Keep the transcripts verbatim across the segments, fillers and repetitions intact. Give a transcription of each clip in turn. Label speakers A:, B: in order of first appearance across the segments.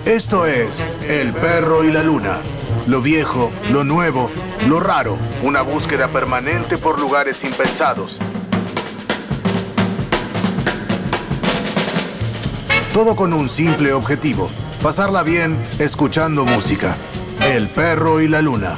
A: Esto es El Perro y la Luna. Lo viejo, lo nuevo, lo raro. Una búsqueda permanente por lugares impensados. Todo con un simple objetivo: pasarla bien escuchando música. El Perro y la Luna.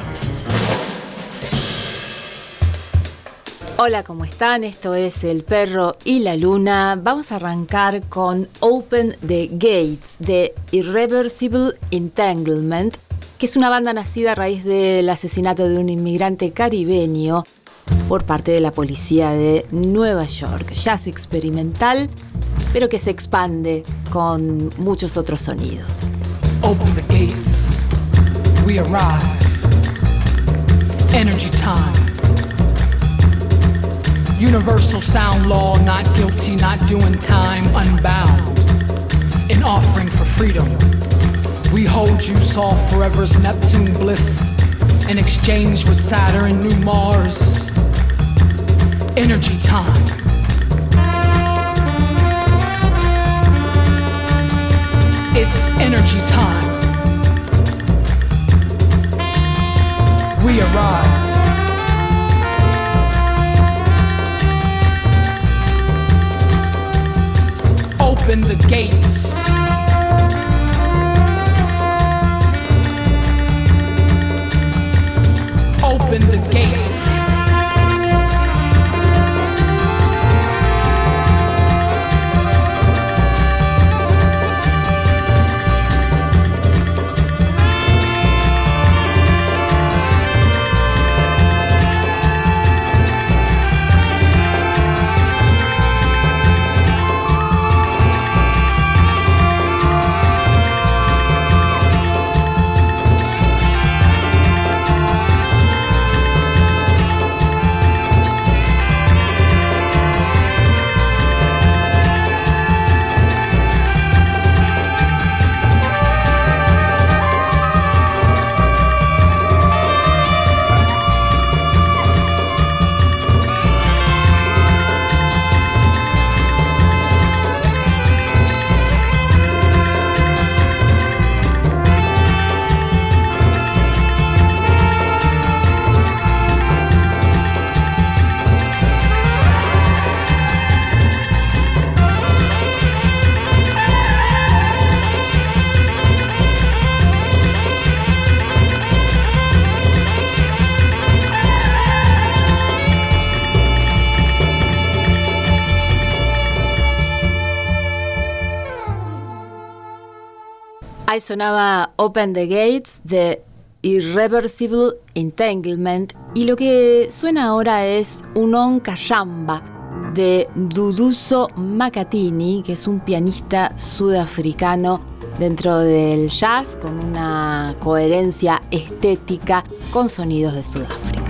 B: Hola, ¿cómo están? Esto es El Perro y la Luna. Vamos a arrancar con Open the Gates de Irreversible Entanglement, que es una banda nacida a raíz del asesinato de un inmigrante caribeño por parte de la policía de Nueva York. Jazz experimental, pero que se expande con muchos otros sonidos.
C: Open the gates, we arrive. Energy time. Universal sound law, not guilty, not doing time, unbound. An offering for freedom. We hold you, soft forever's Neptune bliss. In exchange with Saturn, new Mars. Energy time. It's energy time. We arrive. Open the gates. Open the gates.
B: Ahí sonaba Open the Gates de Irreversible Entanglement, y lo que suena ahora es Un Kashamba de Duduso Makatini, que es un pianista sudafricano dentro del jazz con una coherencia estética con sonidos de Sudáfrica.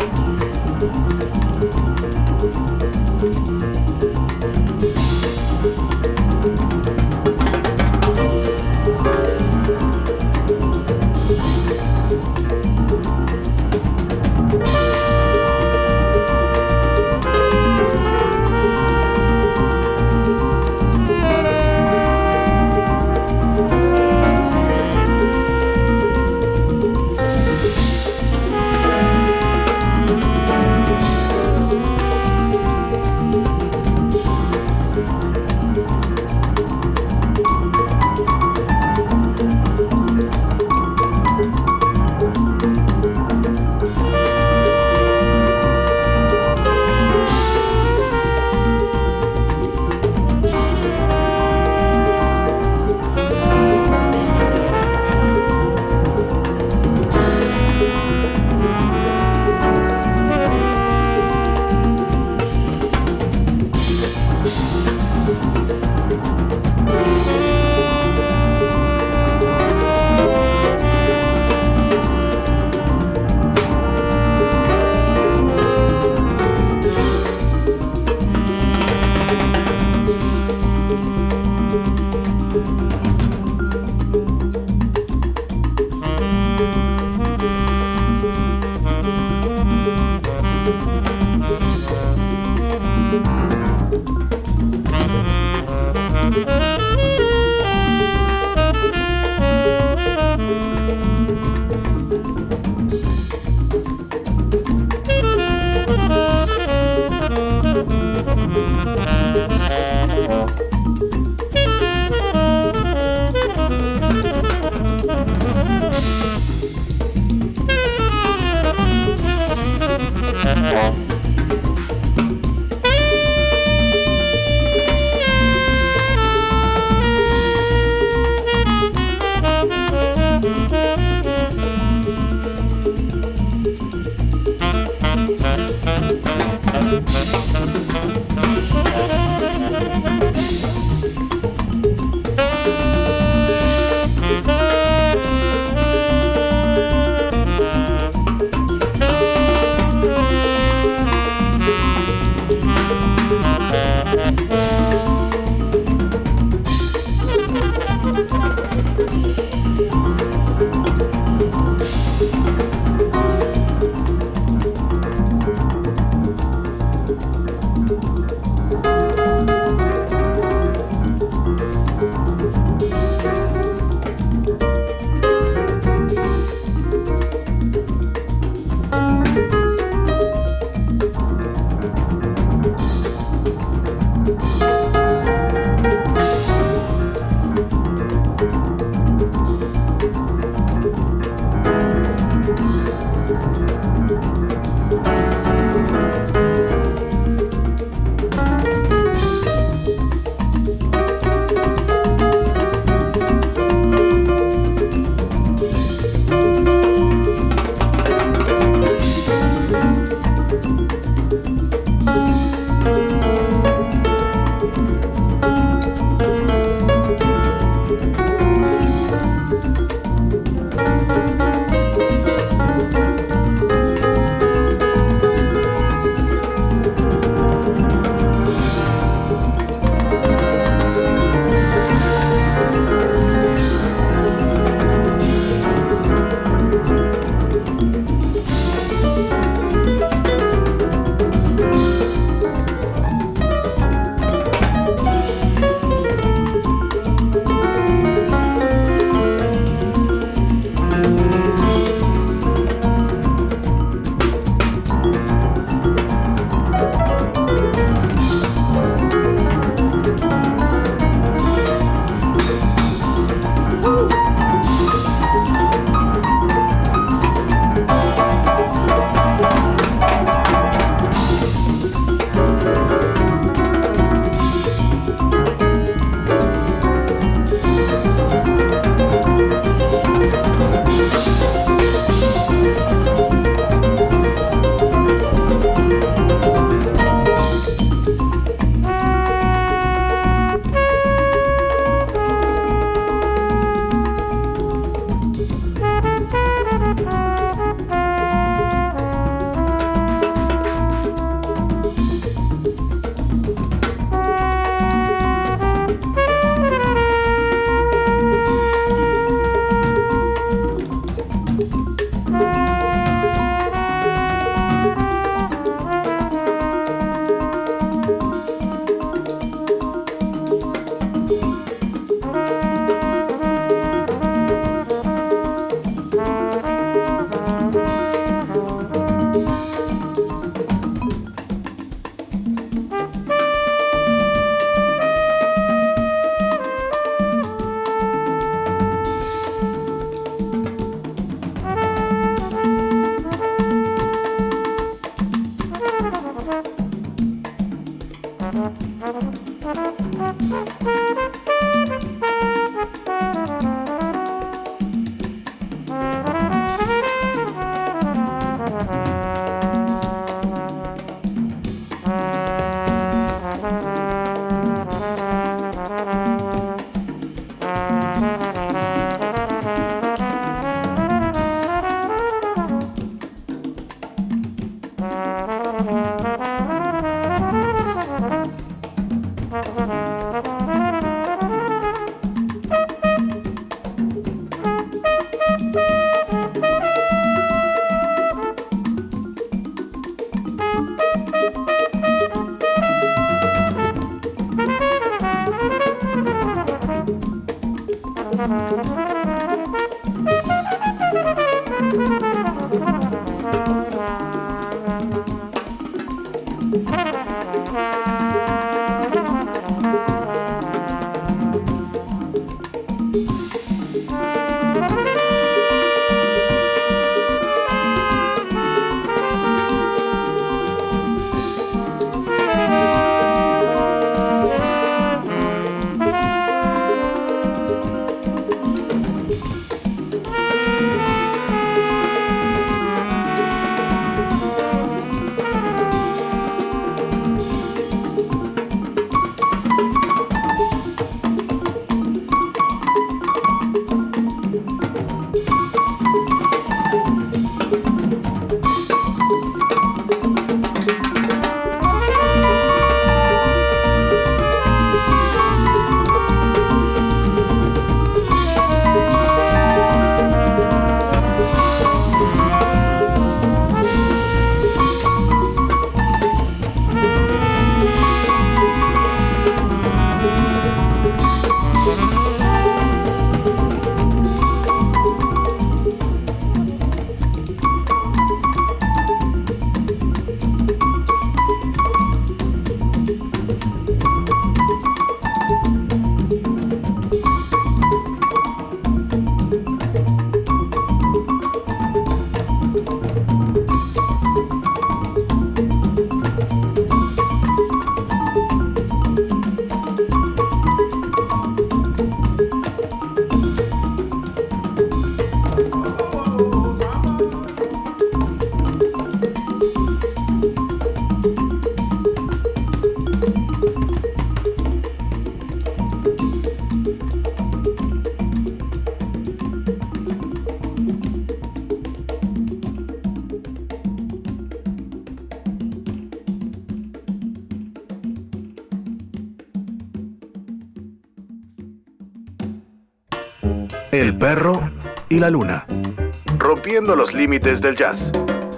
A: El perro y la luna, rompiendo los límites del jazz.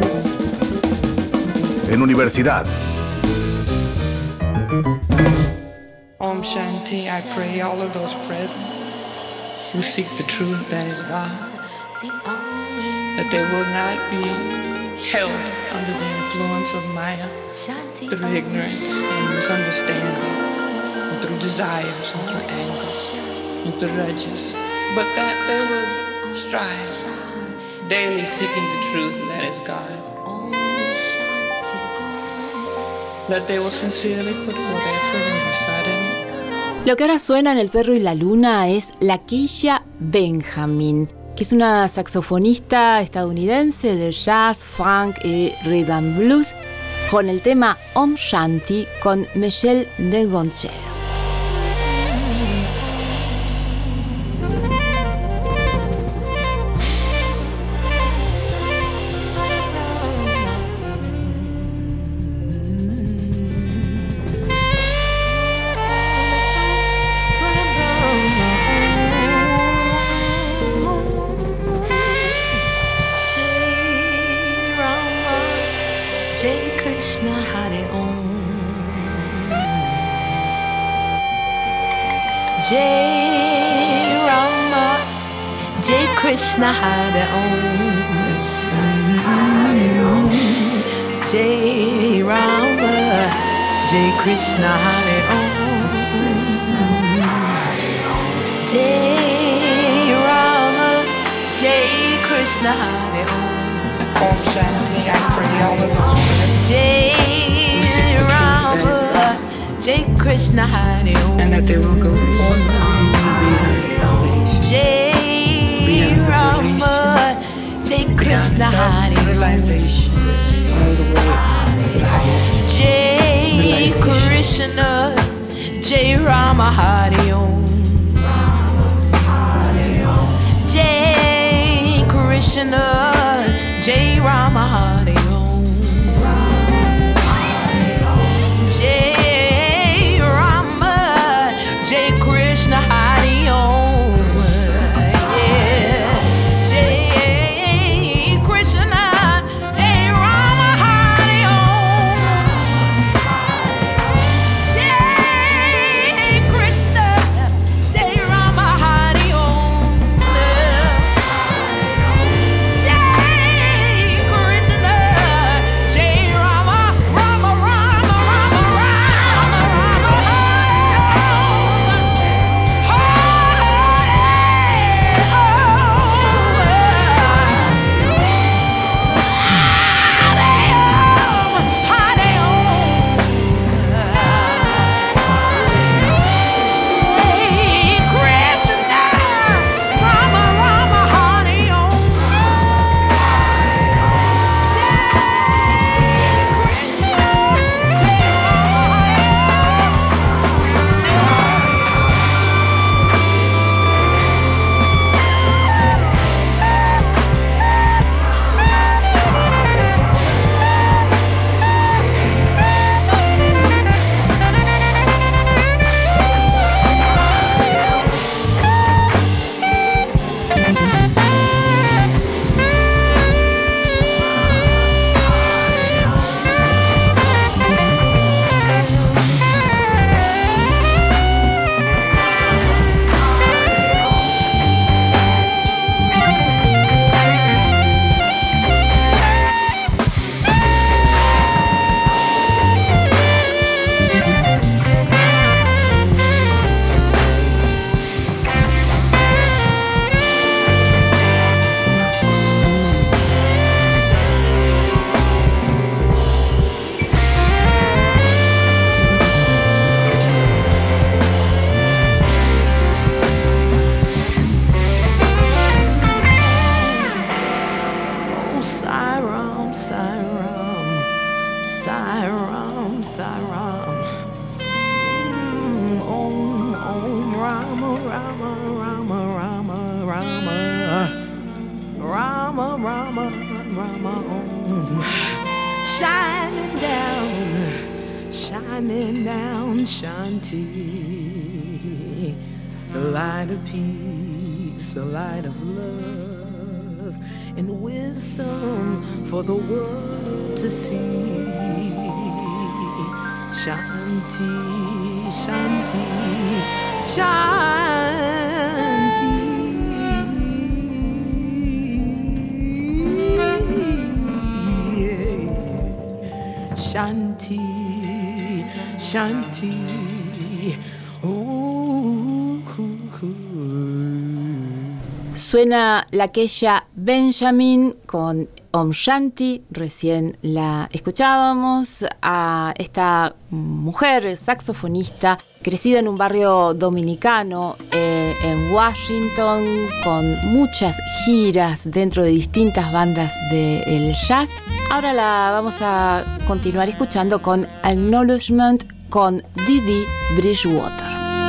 A: En universidad.
D: Om Shanti, I pray all of those present who seek the truth that is God, that they will not be held under the influence of Maya through ignorance and misunderstanding, and through desires and through anger and through grudges, but that they will strive, daily seeking the truth that is God, that they will sincerely put forth effort and recite it.
B: Lo que ahora suena en El perro y la luna es Lakeisha Benjamin, que es una saxofonista estadounidense de jazz, funk y rhythm blues, con el tema Om Shanti con Michel Ngonchelo.
E: Jai Rama, Jai Krishna Hare Om. Jai Rama, Jai Krishna Hare Om. Jai Rama, Jai Krishna Hare Om.
D: Om Shanti, I pray all of those
E: Jai Rama, Jai Krishna Hare Om.
D: and that they will go forth beyond salvation,
E: Jai Rama, Jai Krishna Hare Om.
D: realization of the way to the highest.
E: Jai Krishna, Jai Rama Hare Om. Jai Krishna, Jai Rama Hare Om. Jai Rama, Jai Krishna Hare Om. Yeah. Jai Krishna, Jai Rama Hare Om. Jai Krishna, Jai Rama Hare Om. Rama, Rama, oh. Shining down, shining down, Shanti. The light of peace, the light of love, and wisdom for the world to see. Shanti, Shanti, Shanti. Shanti, Shanti, oh, ooh, ooh.
B: Suena la queya Benjamin con Om Shanti. Recién la escuchábamos a esta mujer saxofonista crecida en un barrio dominicano eh, en Washington, con muchas giras dentro de distintas bandas del jazz. Ahora la vamos a continuar escuchando con Acknowledgement con Didi Bridgewater.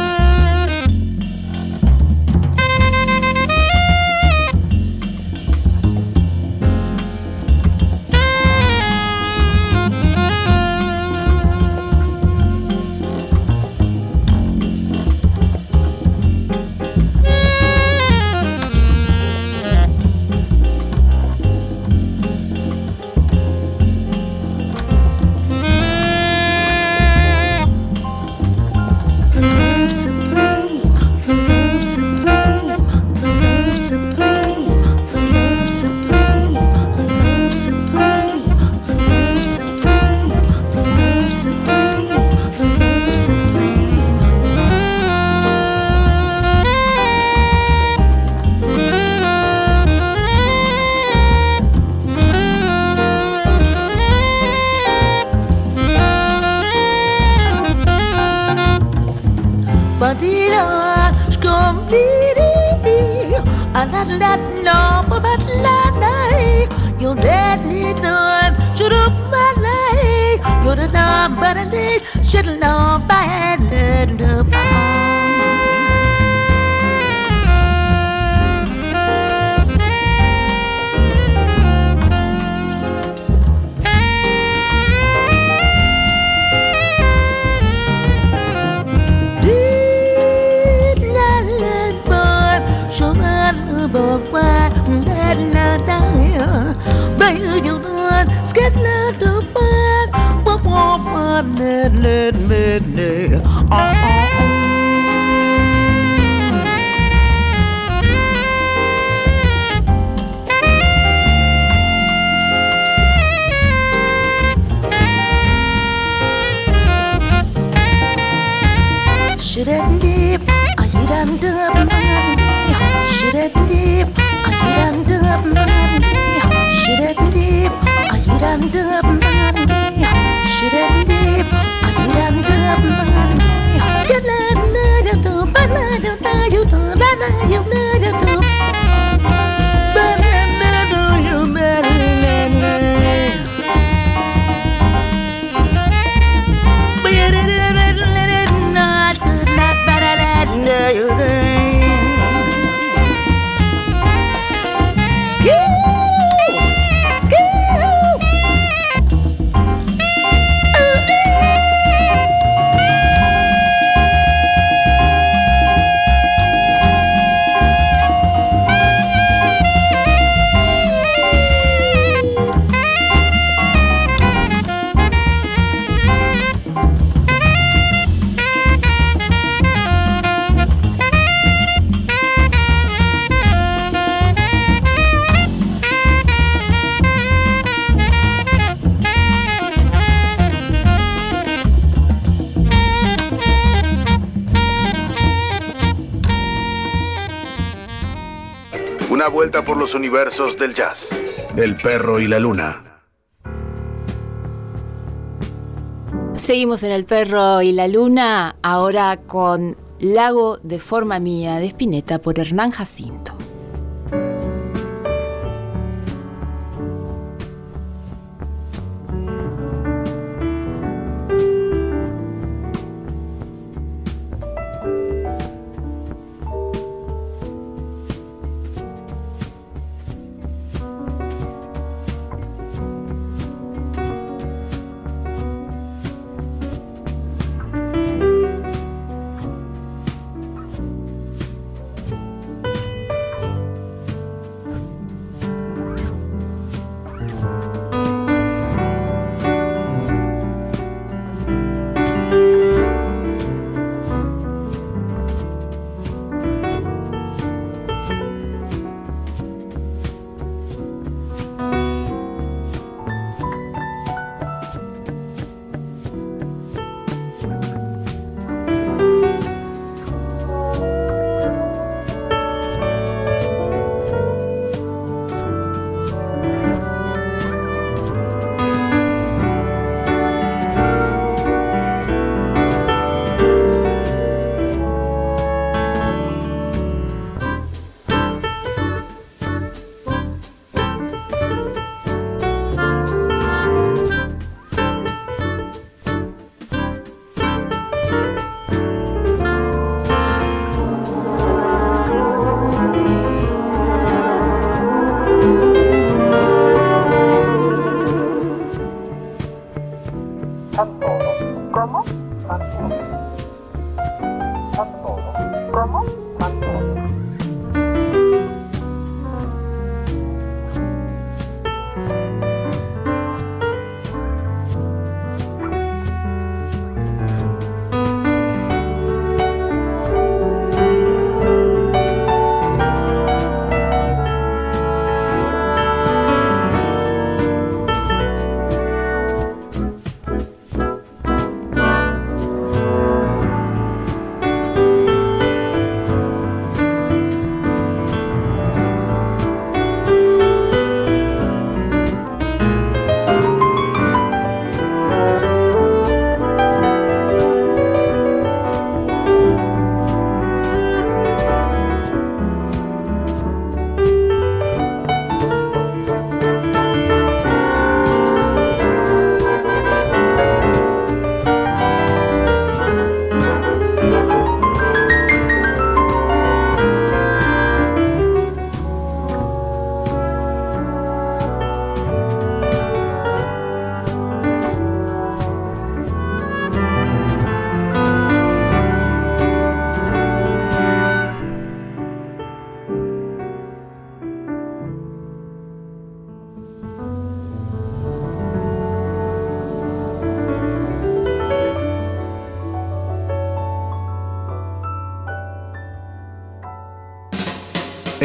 A: Una vuelta por los universos del jazz. El perro y la luna.
B: Seguimos en El perro y la luna, ahora con Lago de forma mía de Spinetta por Hernán Jacinto.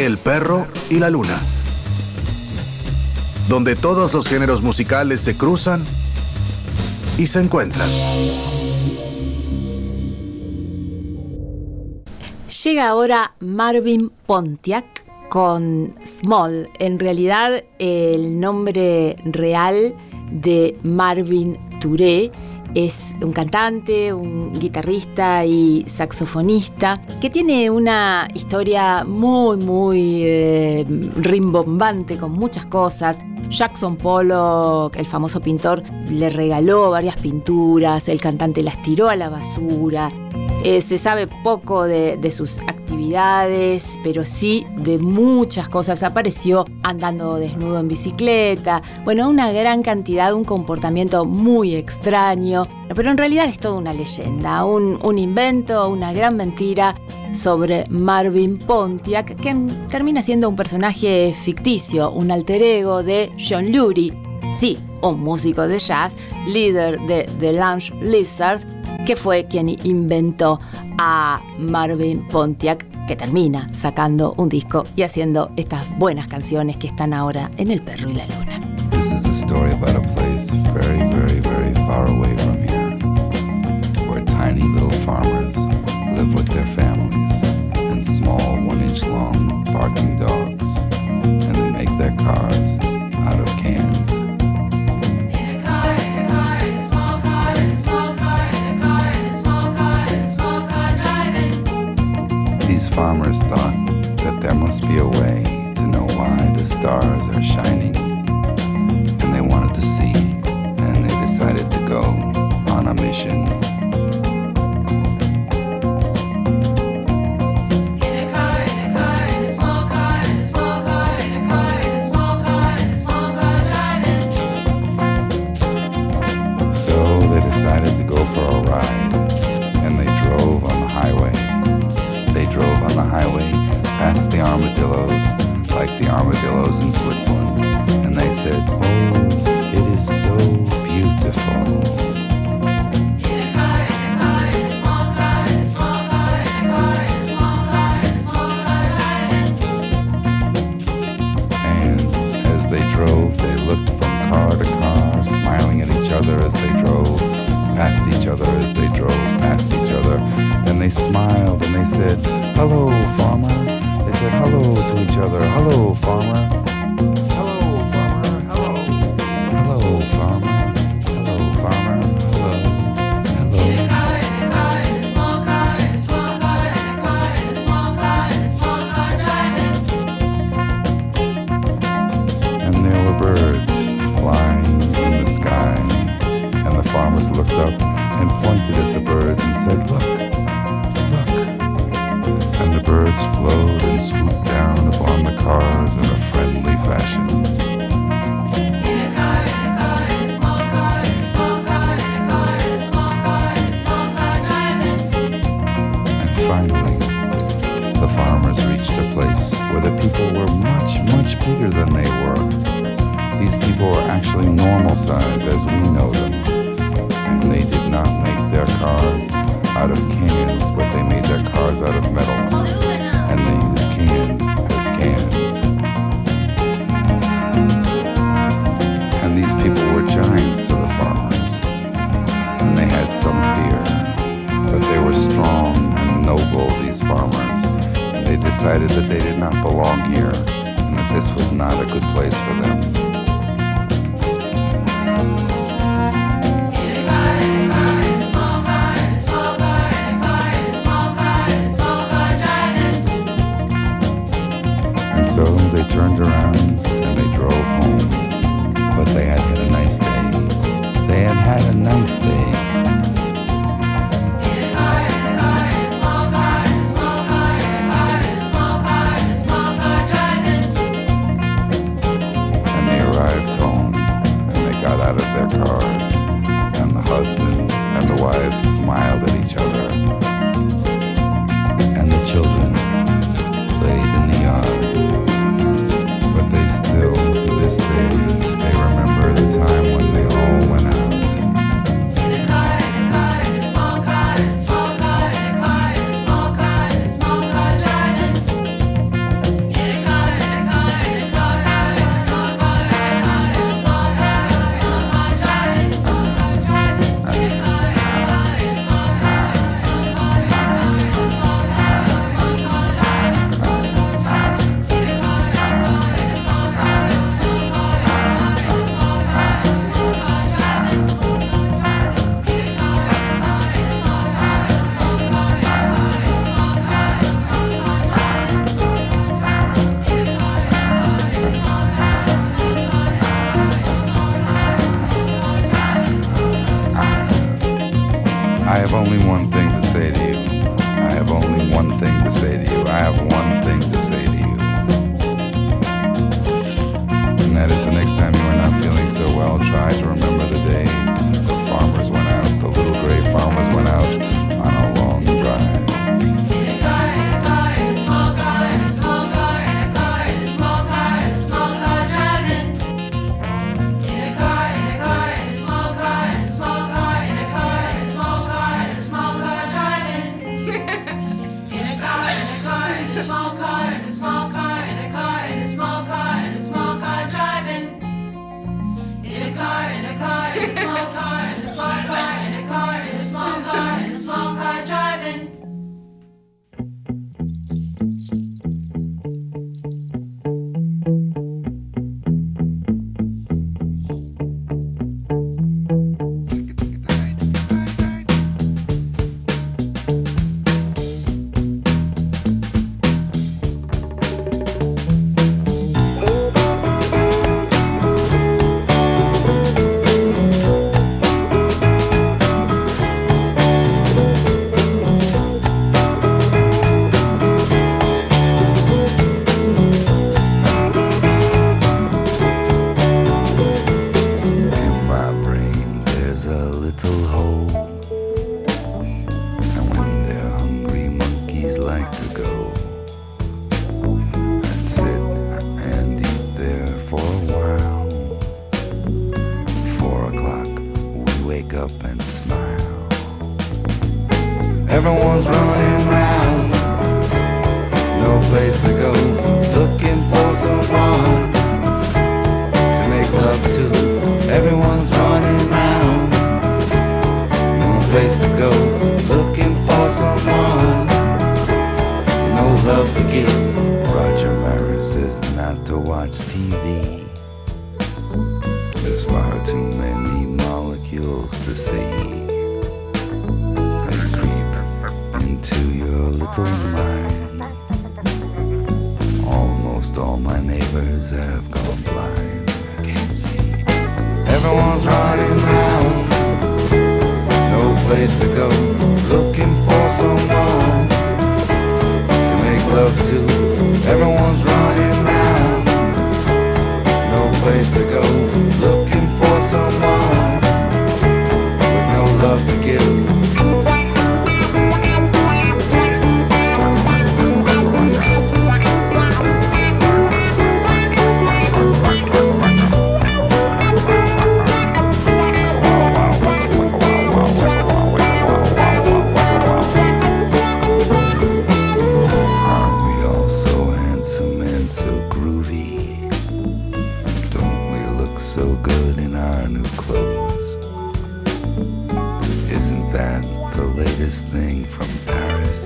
A: El perro y la luna, donde todos los géneros musicales se cruzan y se encuentran.
B: Llega ahora Marvin Pontiac con Small. En realidad, el nombre real de Marvin Touré es un cantante, un guitarrista y saxofonista que tiene una historia muy, muy eh, rimbombante con muchas cosas. Jackson Pollock, el famoso pintor, le regaló varias pinturas, el cantante las tiró a la basura. Eh, se sabe poco de, de sus actividades, pero sí de muchas cosas. Apareció andando desnudo en bicicleta. Bueno, una gran cantidad, un comportamiento muy extraño. Pero en realidad es toda una leyenda, un, un invento, una gran mentira sobre Marvin Pontiac, que termina siendo un personaje ficticio, un alter ego de John Lurie. Sí, un músico de jazz, líder de The Lounge Lizards, que fue quien inventó a Marvin Pontiac, que termina sacando un disco y haciendo estas buenas canciones que están ahora en El Perro y la Luna.
F: This is a story about a place very, very, very far away from here, where tiny little farmers live with their families and small one-inch long barking dogs, and they make their cars out of cans. These farmers thought that there must be a way to know why the stars are shining, and they wanted to see, and they decided to go on a mission. So they decided to go for a ride, and they drove on the highway. They drove on the highway past the armadillos, like the armadillos in Switzerland, and they said, "Oh, it is so beautiful." In a car, in a car, in a small car, in a small car, in a car, in a small car, in a small car, driving. And as they drove, they looked from car to car, smiling at each other as they drove past each other, as they drove past each other. And they smiled and they said, "Hello, farmer." They said hello to each other. "Hello, farmer." "Hello, farmer." "Hello." "Hello, farmer." "Hello, farmer." "Hello." "Hello." In a car, in a car, in a small car, in a small car, in a car, in a small car, in a small car, driving. And there were birds flying in the sky. And the farmers looked up and pointed at the birds and said, "Look, look." And the birds flowed and swooped down upon the cars in a friendly fashion. In a car, in a car, in a small car, in a small car, in a car, in a small car, in a small car, driving. And finally, the farmers reached a place where the people were much, much bigger than they were. These people were actually normal size as we know them. And they did not make their cars out of cans, but they made their cars out of metal. And they used cans as cans. And these people were giants to the farmers. And they had some fear, but they were strong and noble, these farmers. And they decided that they did not belong here, and that this was not a good place for them. So they turned around and they drove home. But they had had a nice day. They had had a nice day. In a car, in a car, in a small car, in a small car, in a car, in a small car, in a small car, driving. And they arrived home and they got out of their cars. And the husbands and the wives smiled at each other. And the children played in the yard. But they still, to this day, they remember the time when they all went out. In a car, next time you are not feeling so well, try to remember the days the farmers went out, the little gray farmers went out on a long drive.
G: In a car, in a car, in a small car, in a small car, in a car, in a small car, in a small car driving. In a car, in a car, in a small car, in a small car, in a car, in a small car, in a small car driving. In a car, in a car, in a small car, in a small car, in a car, in a small car, in a small car driving. In a car, in a car, in a small car, in a small car, in a car, in a small car, in a small car driving.
F: Everyone's running round, no place to go, looking for someone to make love to. Everyone's running round, no place to go, looking for someone, no love to give. Roger Maris says not to watch T V. There's far too many molecules to see. To your little mind. Almost all my neighbors have gone blind. I can't see. Everyone's running round, no place to go, looking for someone to make love to. Everyone's running round, no place to go, looking for someone with no love to give. Thing from Paris.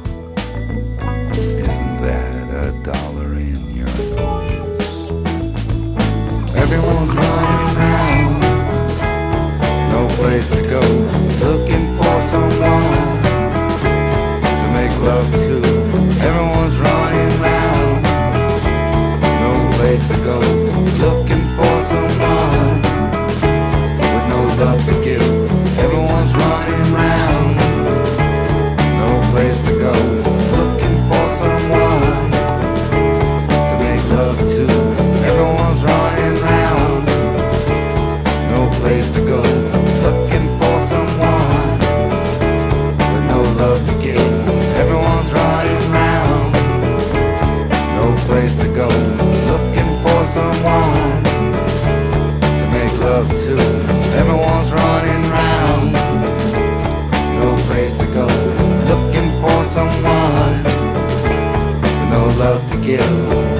F: Isn't that a dollar in your nose? Everyone's running round, no place to go, looking for someone to make love to. Everyone's running round, no place to go, looking for someone with no love to give. Everyone's running round, place to go, looking for someone to make love to. Everyone's running round, no place to go, looking for someone with no love to give. Everyone's running round, no place to go, looking for someone to make love to. Everyone's running round, no place to go, looking for someone with no love to give.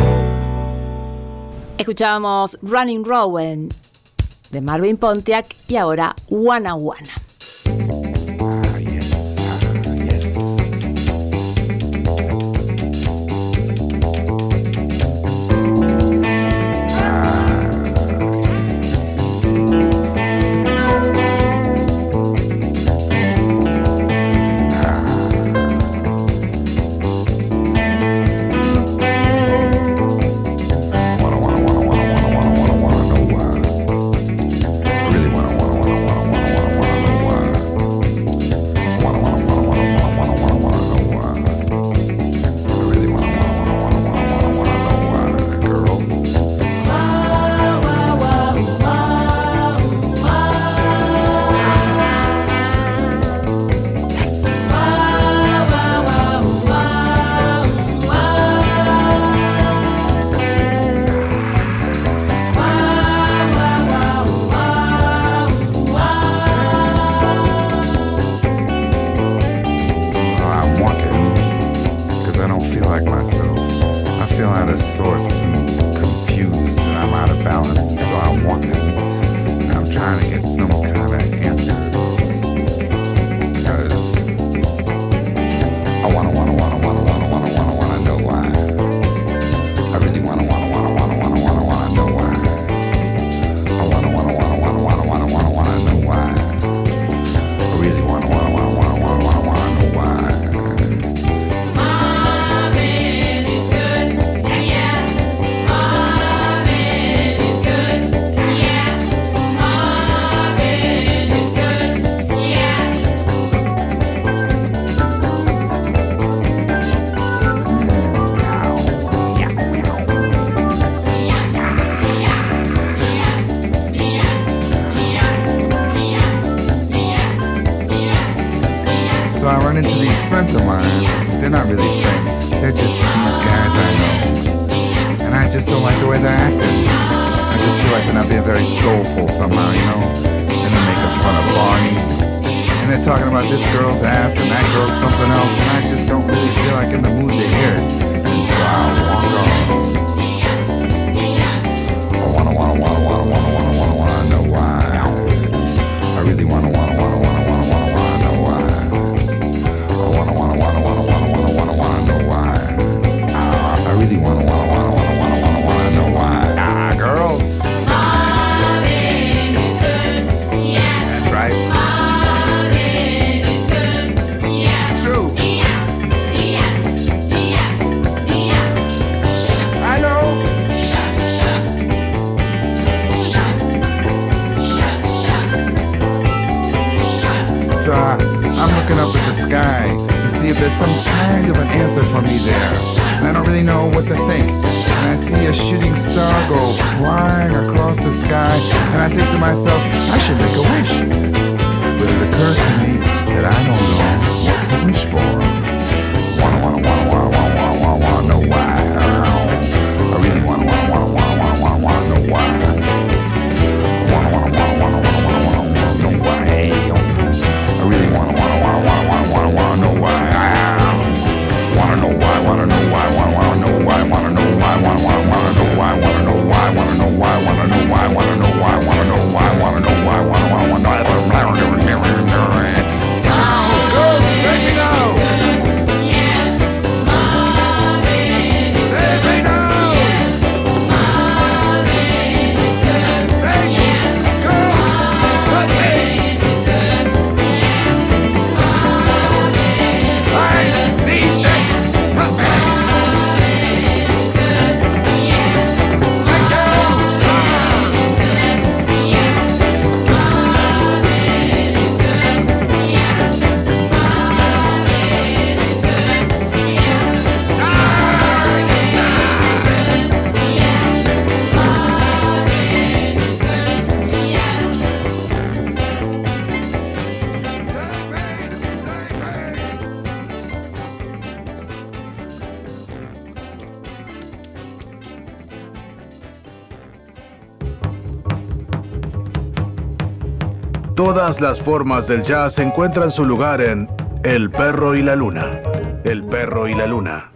B: Escuchábamos Running Rowan de Marvin Pontiac y ahora Wanna Wanna.
F: Ah, yes, ah, yes. Wanna, wanna, wanna, wanna, wanna know why. I really wanna, wanna, wanna, wanna, wanna, wanna, wanna know sorts and confused and I'm out of balance, and so I'm walking and I'm trying to get some kind of answers. Because I wanna, wanna, wanna, wanna, wanna, wanna, wanna, wanna know why. I really wanna, wanna, wanna, wanna, wanna, wanna, wanna know why. I wanna, wanna, wanna, wanna, wanna, wanna, wanna, wanna know why. I really wanna, wanna, wanna, wanna, wanna, wanna, wanna know why.
G: Marvin is good, yeah. Marvin is good, yeah. Marvin is good, yeah.
F: So I run into these friends of mine. They're not really friends. They're just these guys I know. And I just don't like the way they're acting. I just feel like they're not being very soulful somehow, you know? And they're making fun of Barney. And they're talking about this girl's ass and that girl's something else. And I just don't really feel like in the mood to hear it. And so I walk on. I wanna, wanna, wanna, wanna, wanna, wanna, wanna, wanna know why. I really wanna, wanna, wanna, wanna, wanna, wanna, wanna know why. I wanna, wanna, wanna, wanna, wanna, wanna, wanna, wanna know why. Ah, I really wanna, wanna, wanna, wanna, wanna, wanna, wanna know why. Ah, girls.
G: Marvin is good, yeah.
F: That's right.
G: Marvin is good, yeah.
F: It's true.
G: Yeah, yeah, yeah, yeah.
F: I know.
G: Shut, shut. Shut. Shut, shut. Shut.
F: So I, I'm looking up at the sky to see if there's some kind of an answer for me there. And I don't really know what to think. And I see a shooting star go flying across the sky, and I think to myself, I should make a wish. But it occurs to me that I don't know what to wish for. Wanna, wanna, wanna, wanna, wanna, wanna, wanna, wanna know why. I really wanna, wanna, wanna, wanna, wanna, wanna, wanna know why. Wanna, wanna, wanna, wanna, wanna, wanna, wanna, wanna know why. I really wanna, wanna, wanna, wanna, wanna, wanna, wanna know why. Wanna know why, wanna know why, wanna, wanna know why, wanna know why, wanna, wanna, wanna know why, wanna know why, wanna know why, wanna know why, wanna know why, wanna know why, wanna know why, wanna, wanna, wanna know why. Girls, girls, take me now. Take me now. Take me, girls, let me. I need this. Let me. Thank
A: Todas las formas del jazz encuentran su lugar en El Perro y la Luna. El Perro y la Luna.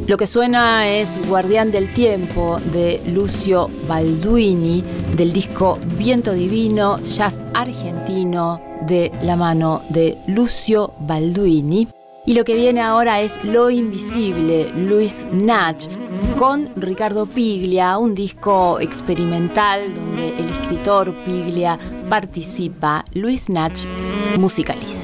B: Lo que suena es Guardián del Tiempo de Lucio Balduini, del disco Viento Divino, jazz argentino de la mano de Lucio Balduini. Y lo que viene ahora es Lo Invisible, Luis Nach, con Ricardo Piglia, un disco experimental donde el escritor Piglia participa, Luis Nach musicaliza.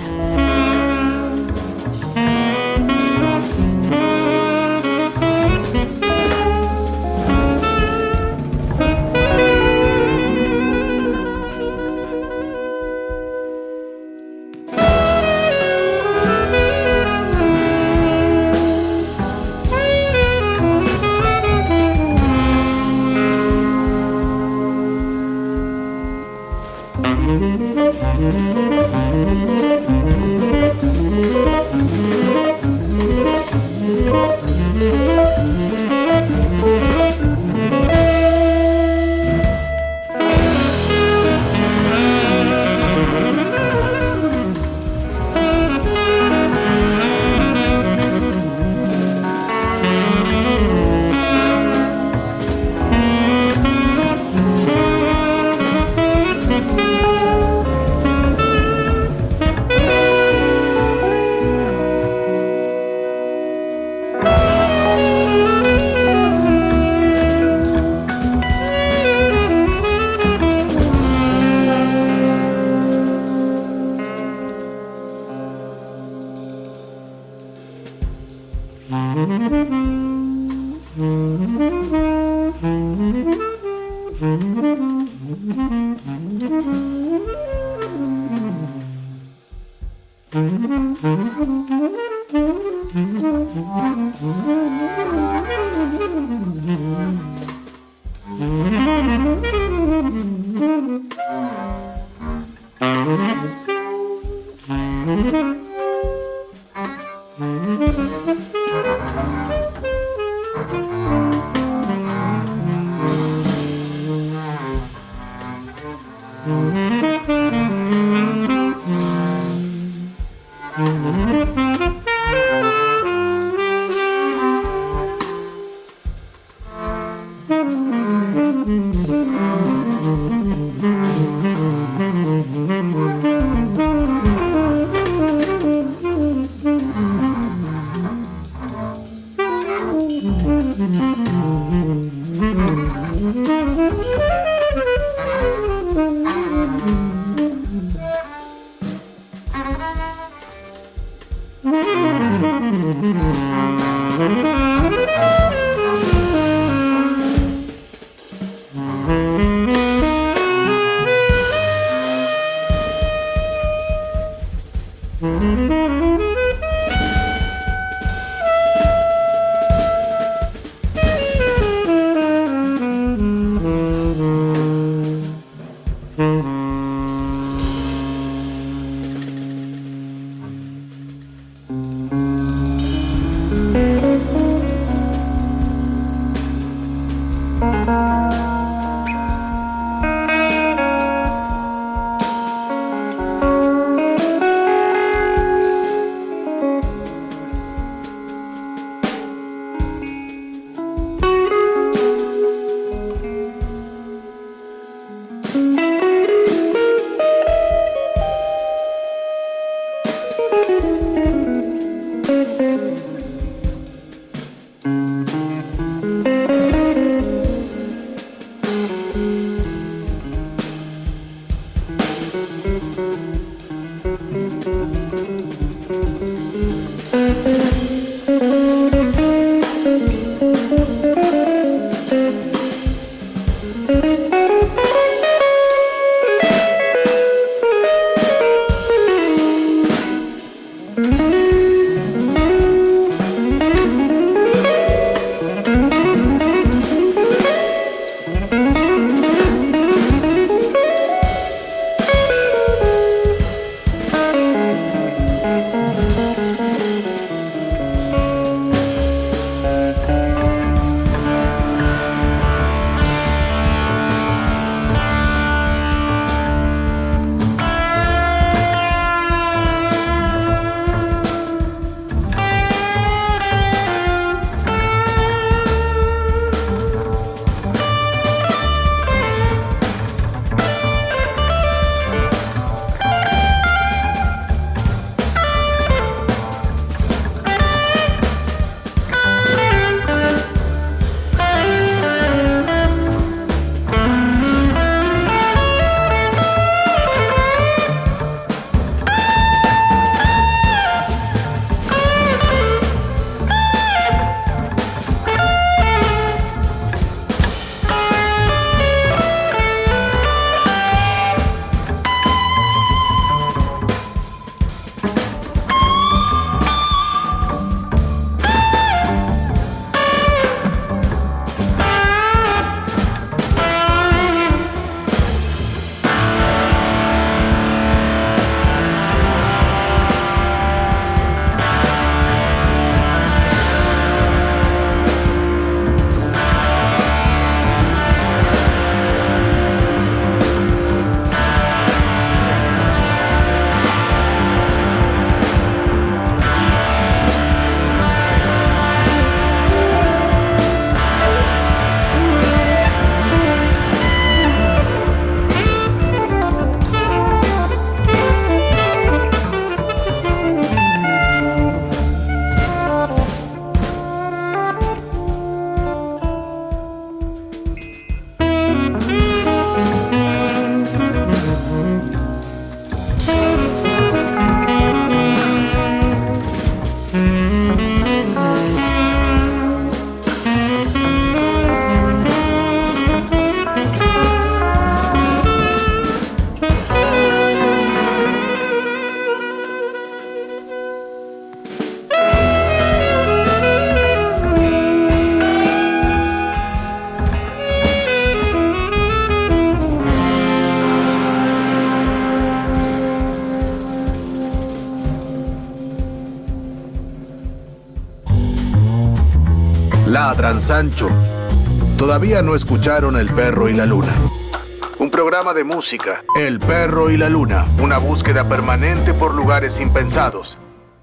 A: ladran Sancho. Todavía no escucharon El Perro y la Luna. Un programa de música. El Perro y la Luna. Una búsqueda permanente por lugares impensados.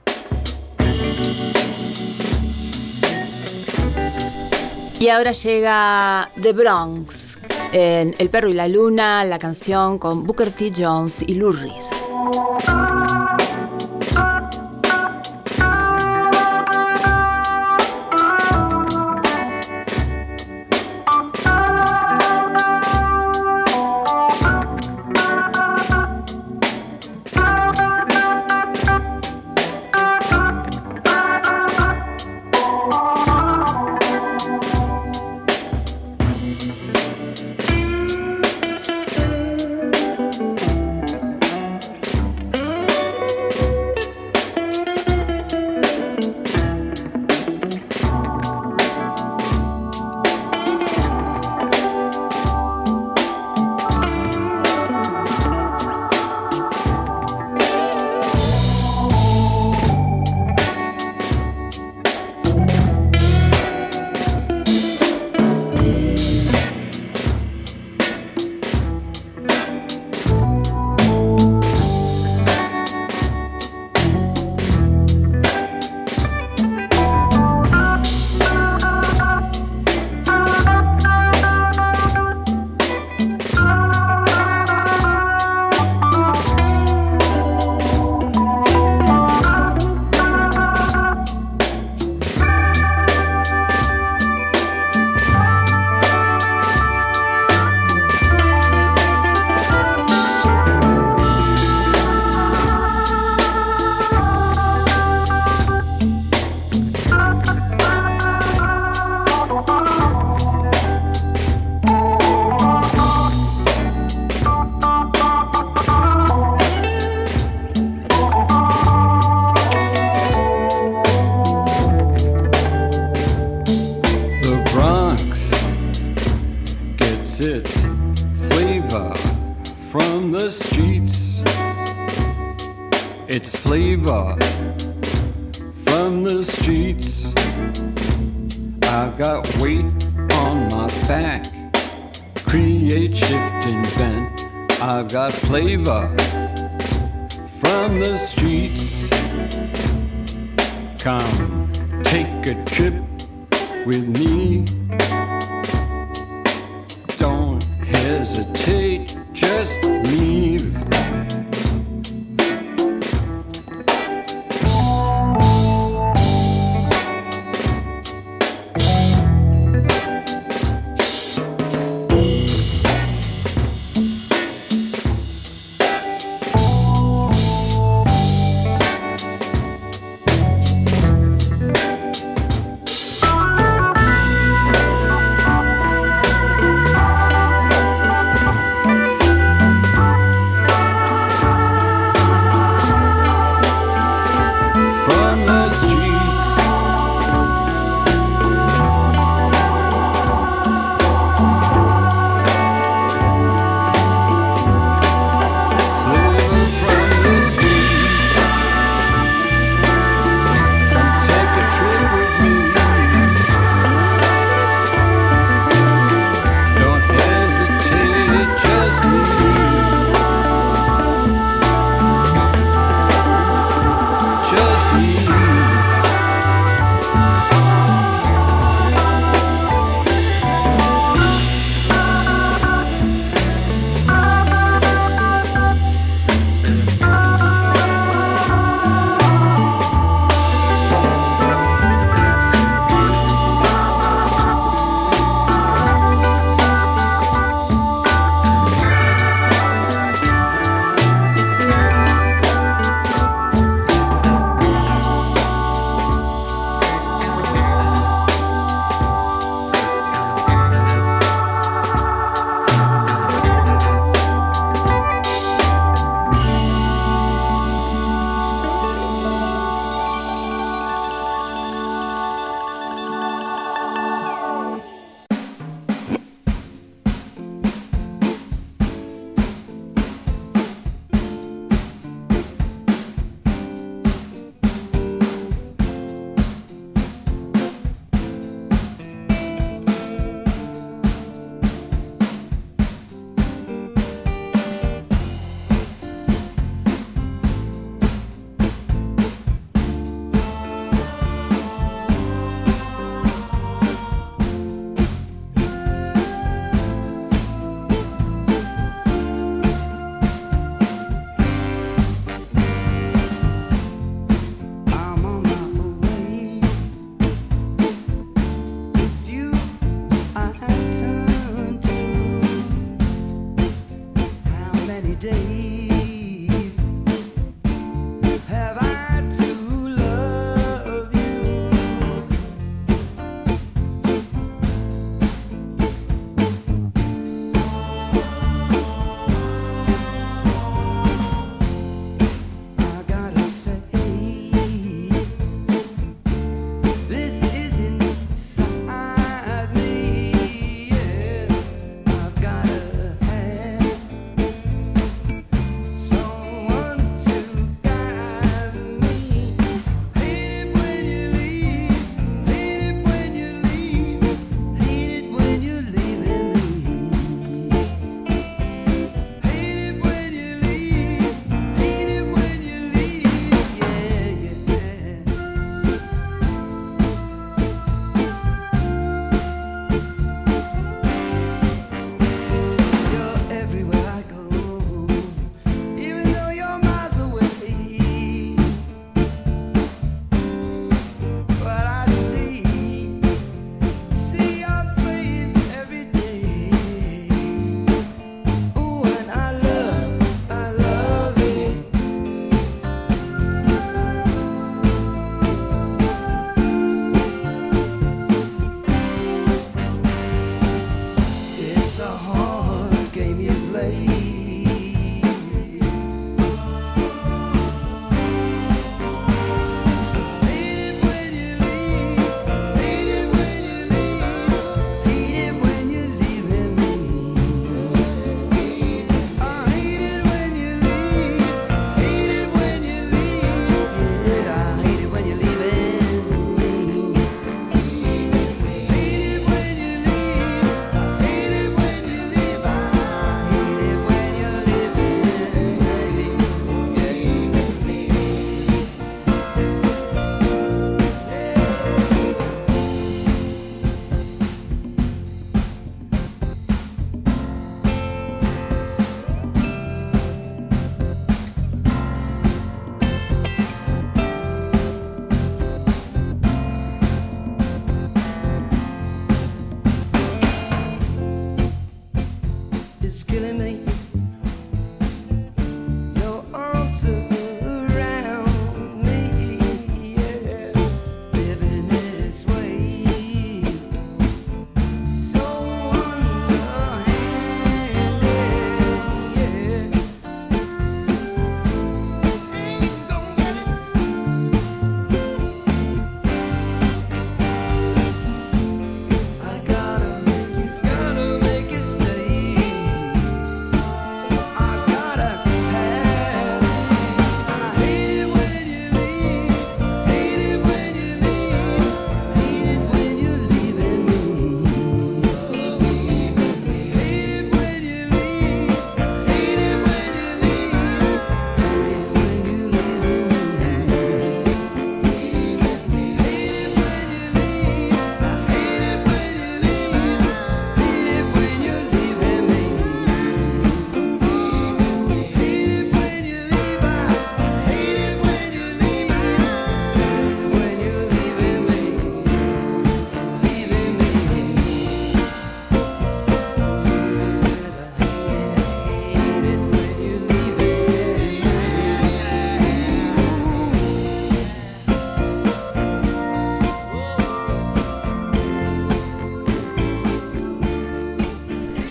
B: Y ahora llega The Bronx en El Perro y la Luna, la canción con Booker T. Jones y Lou Reed.
H: It's flavor from the streets. I've got weight on my back, create, shift, invent. I've got flavor from the streets. Come, take a trip with me. Don't hesitate, just leave.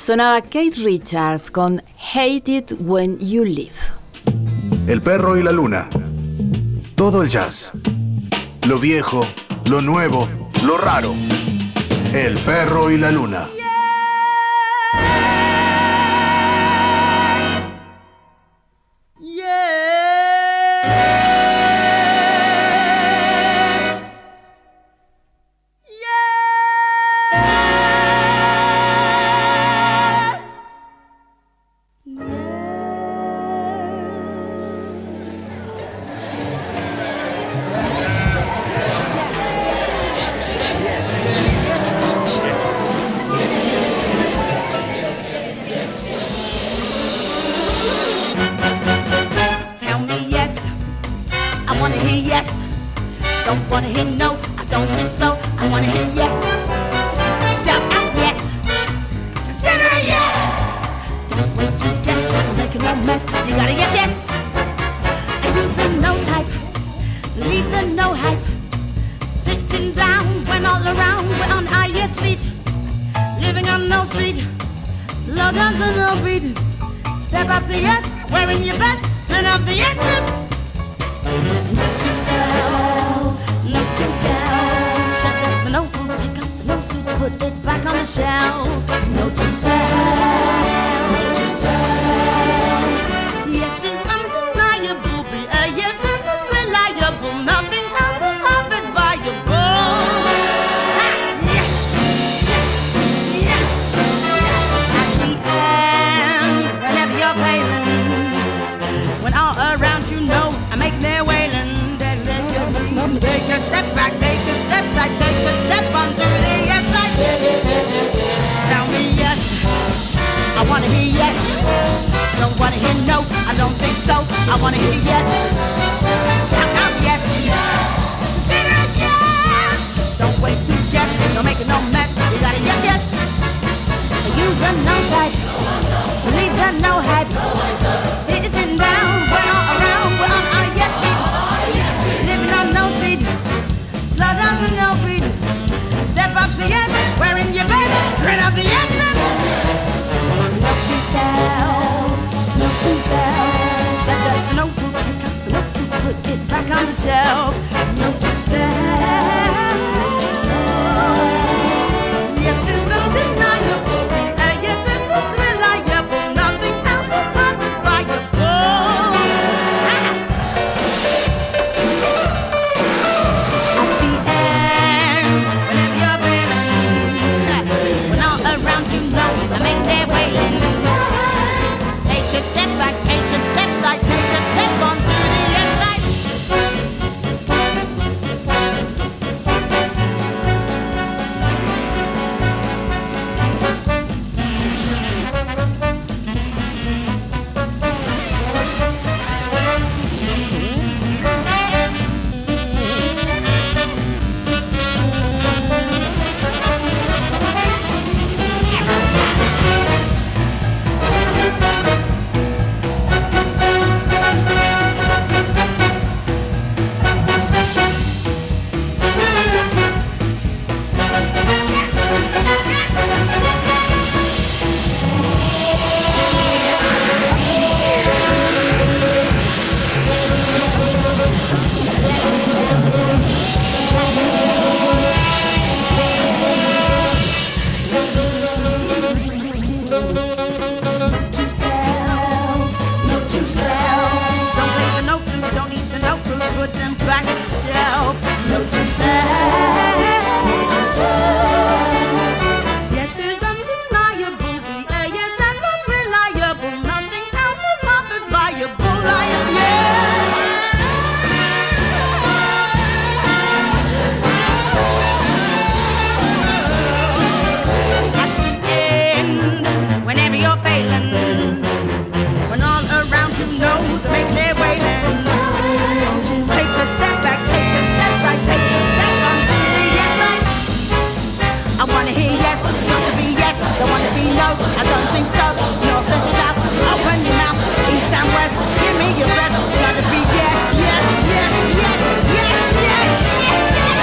B: Sonaba Kate Richards con Hate It When You Leave.
A: El perro y la luna. Todo el jazz. Lo viejo, lo nuevo, lo raro. El perro y la luna.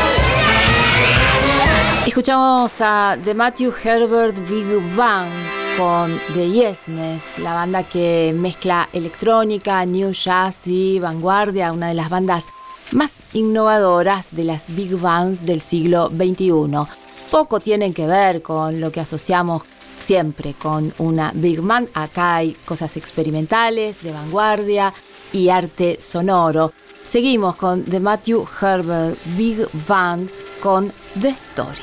B: Escuchamos a The Matthew Herbert Big Band con The Yesness, la banda que mezcla electrónica, new jazz y vanguardia, una de las bandas más innovadoras de las big bands del siglo veintiuno. Poco tienen que ver con lo que asociamos siempre con una big band. Acá hay cosas experimentales, de vanguardia y arte sonoro. Seguimos con The Matthew Herbert Big Band con The Story.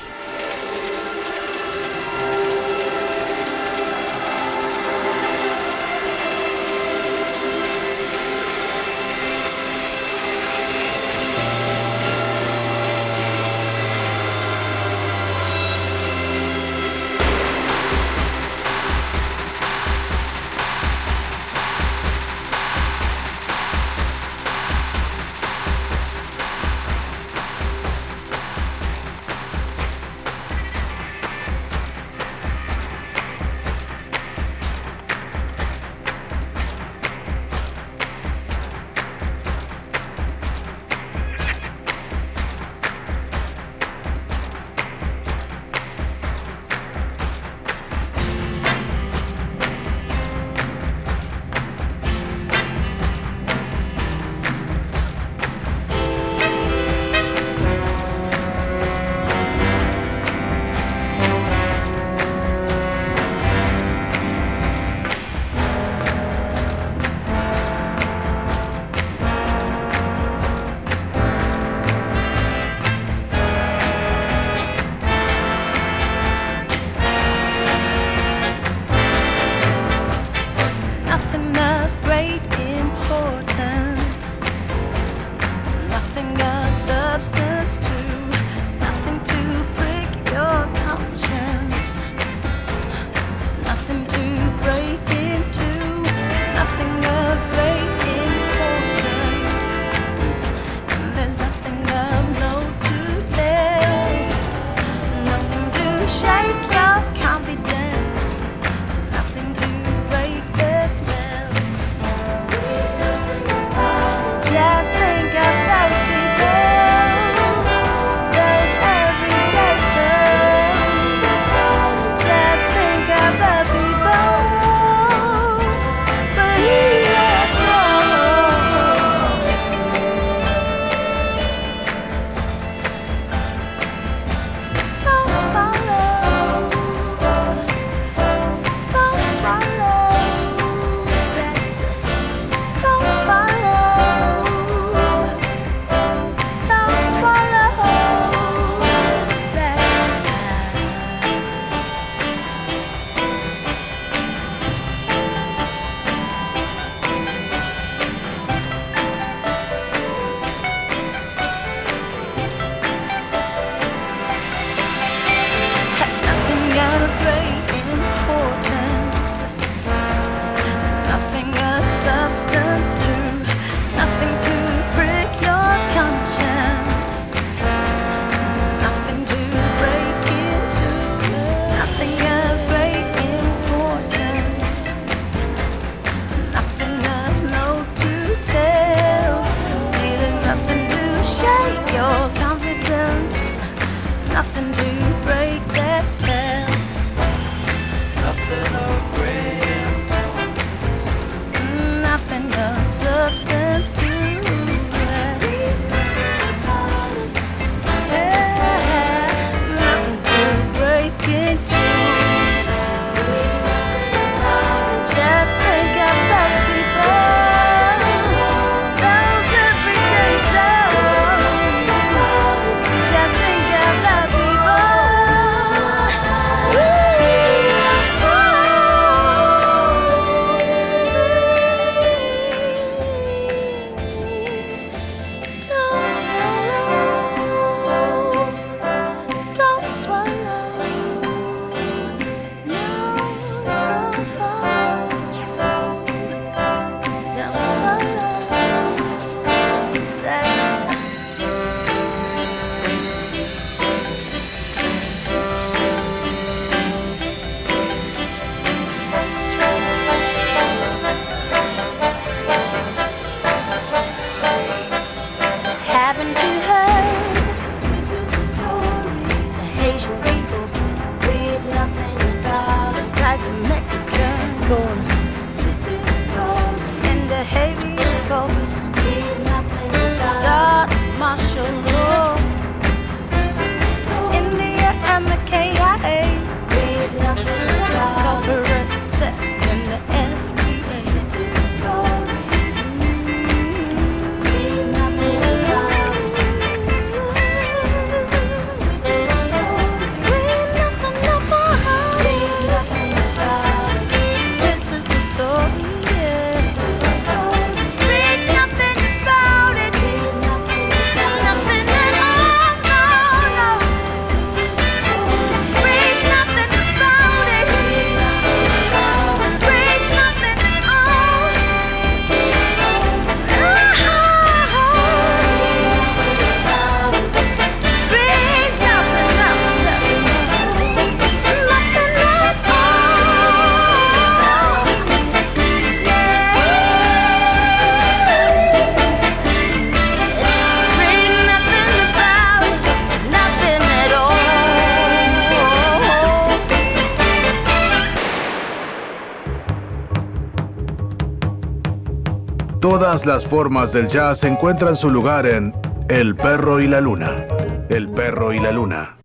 A: Todas las formas del jazz encuentran su lugar en El Perro y la Luna. El Perro y la Luna.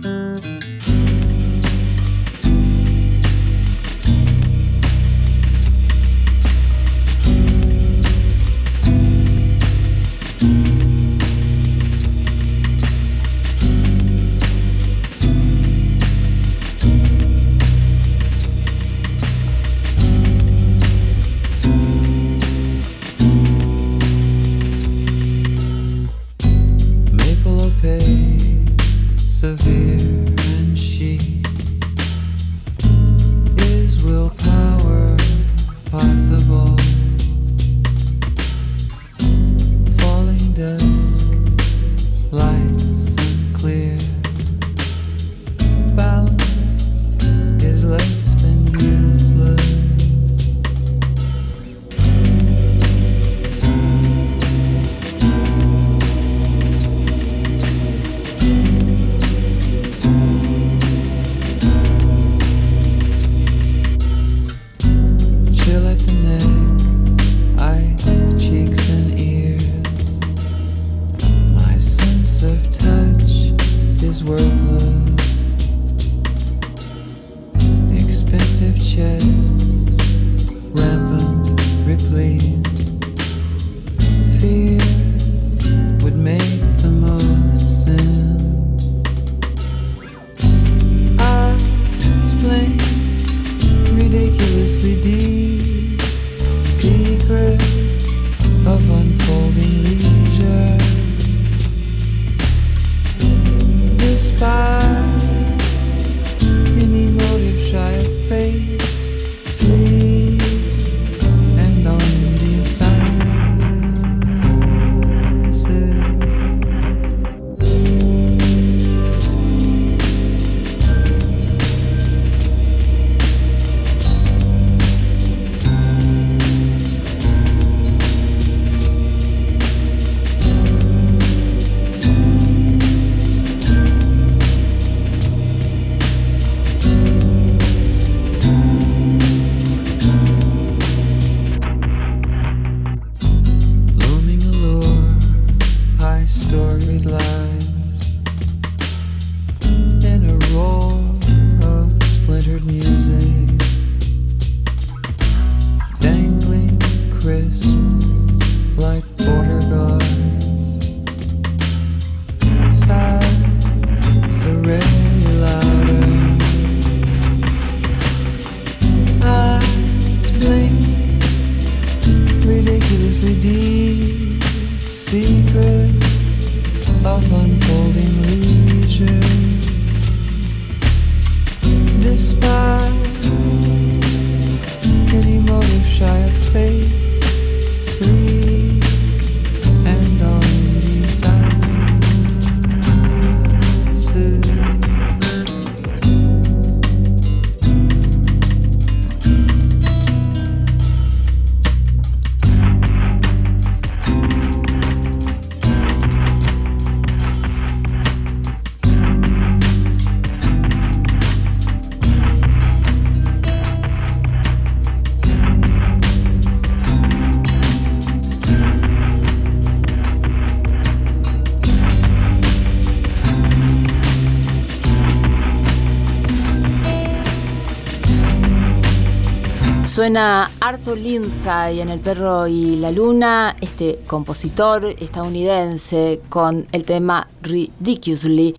B: Suena Arthur Lindsay en El Perro y la Luna, este compositor estadounidense con el tema Ridiculously.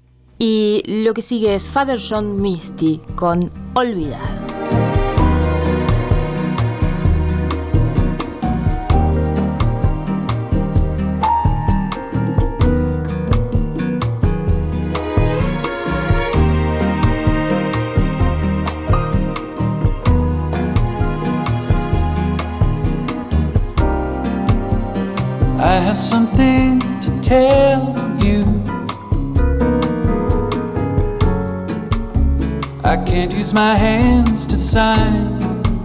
B: Y lo que sigue es Father John Misty con Olvidar.
I: I have something to tell you. I can't use my hands to sign.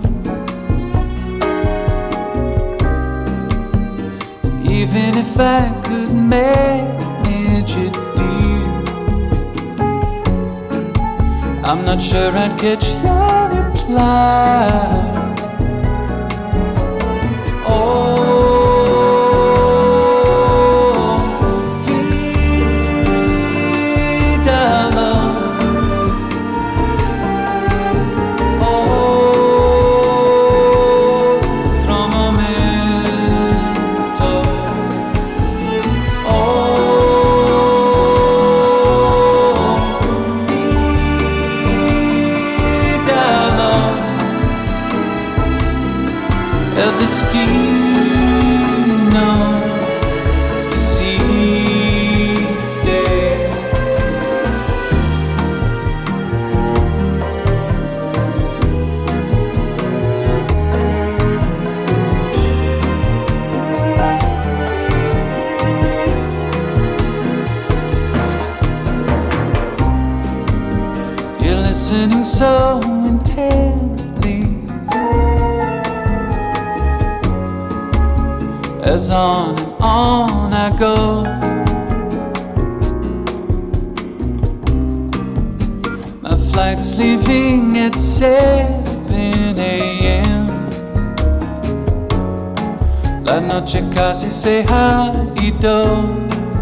I: Even if I could manage it, dear, I'm not sure I'd catch your reply. Oh, so intently as on and on I go. My flight's leaving at seven a.m. La noche casi se ha ido.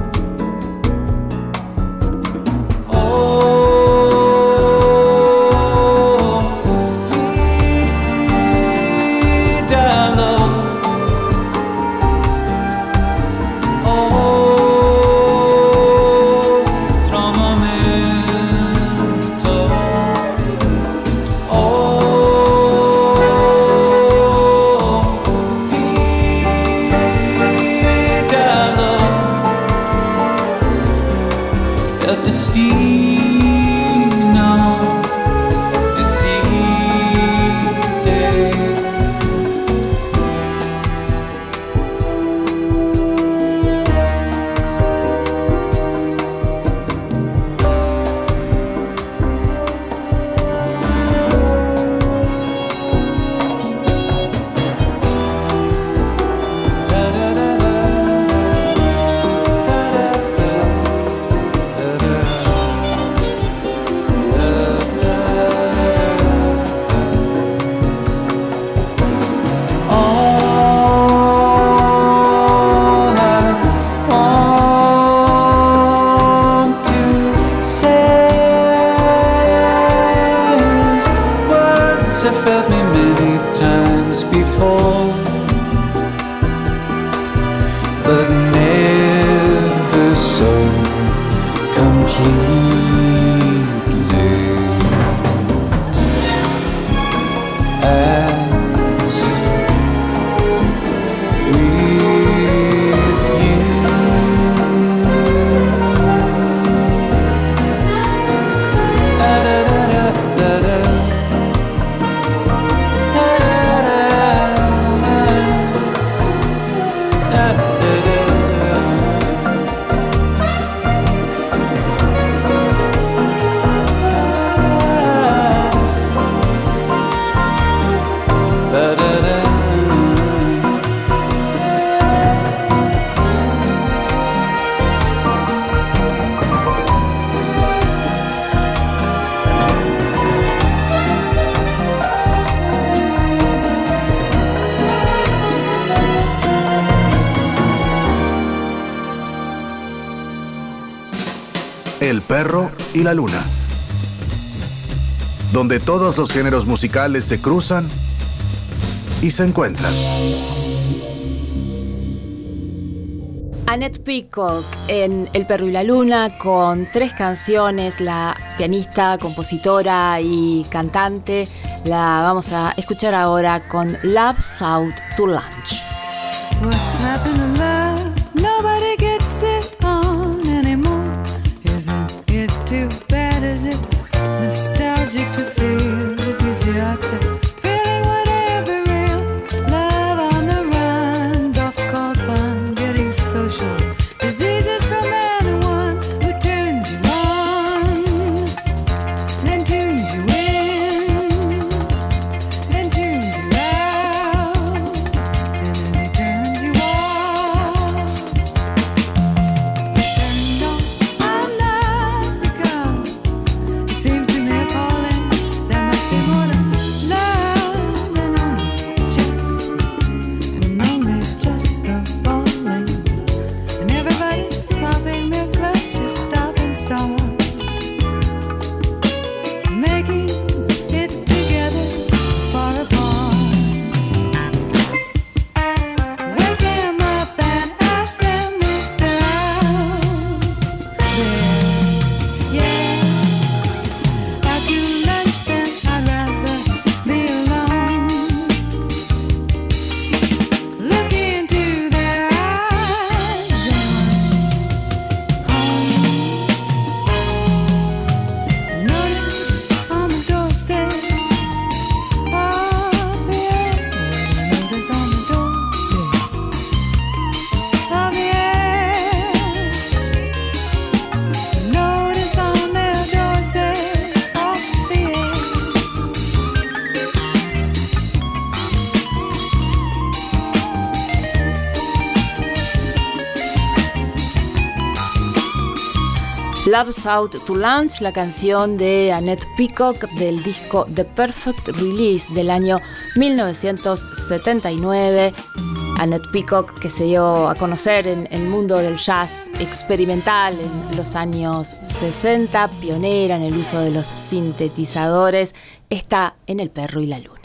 A: El perro y la luna, donde todos los géneros musicales se cruzan y se encuentran.
B: Annette Peacock en El perro y la luna, con tres canciones. La pianista, compositora y cantante la vamos a escuchar ahora con Love's Out to Lunch.
J: What's happened to love? Nobody gets it on anymore. Isn't it too bad? Is it nostalgic to feel if you see after feeling whatever real love on the run, oft called fun, getting social diseases from anyone who turns you on, then turns you in, then turns you out, and then he turns you off.
B: Love's Out to Lunch, la canción de Annette Peacock del disco The Perfect Release del año mil novecientos setenta y nueve. Annette Peacock, que se dio a conocer en el mundo del jazz experimental en los años sesenta, pionera en el uso de los sintetizadores, está en El Perro y la Luna.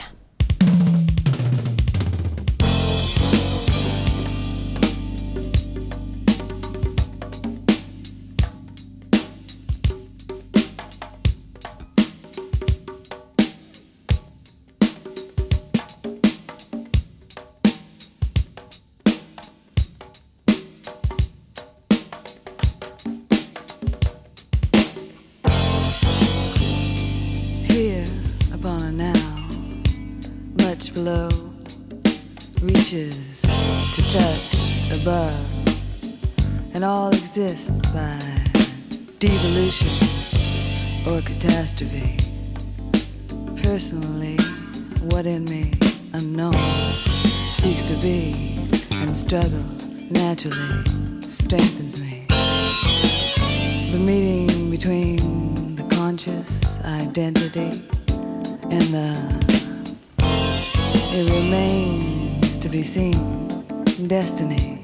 J: Below reaches to touch above, and all exists by devolution or catastrophe. Personally, what in me, unknown, seeks to be and struggle naturally strengthens me. The meeting between the conscious identity and the it remains to be seen, destiny.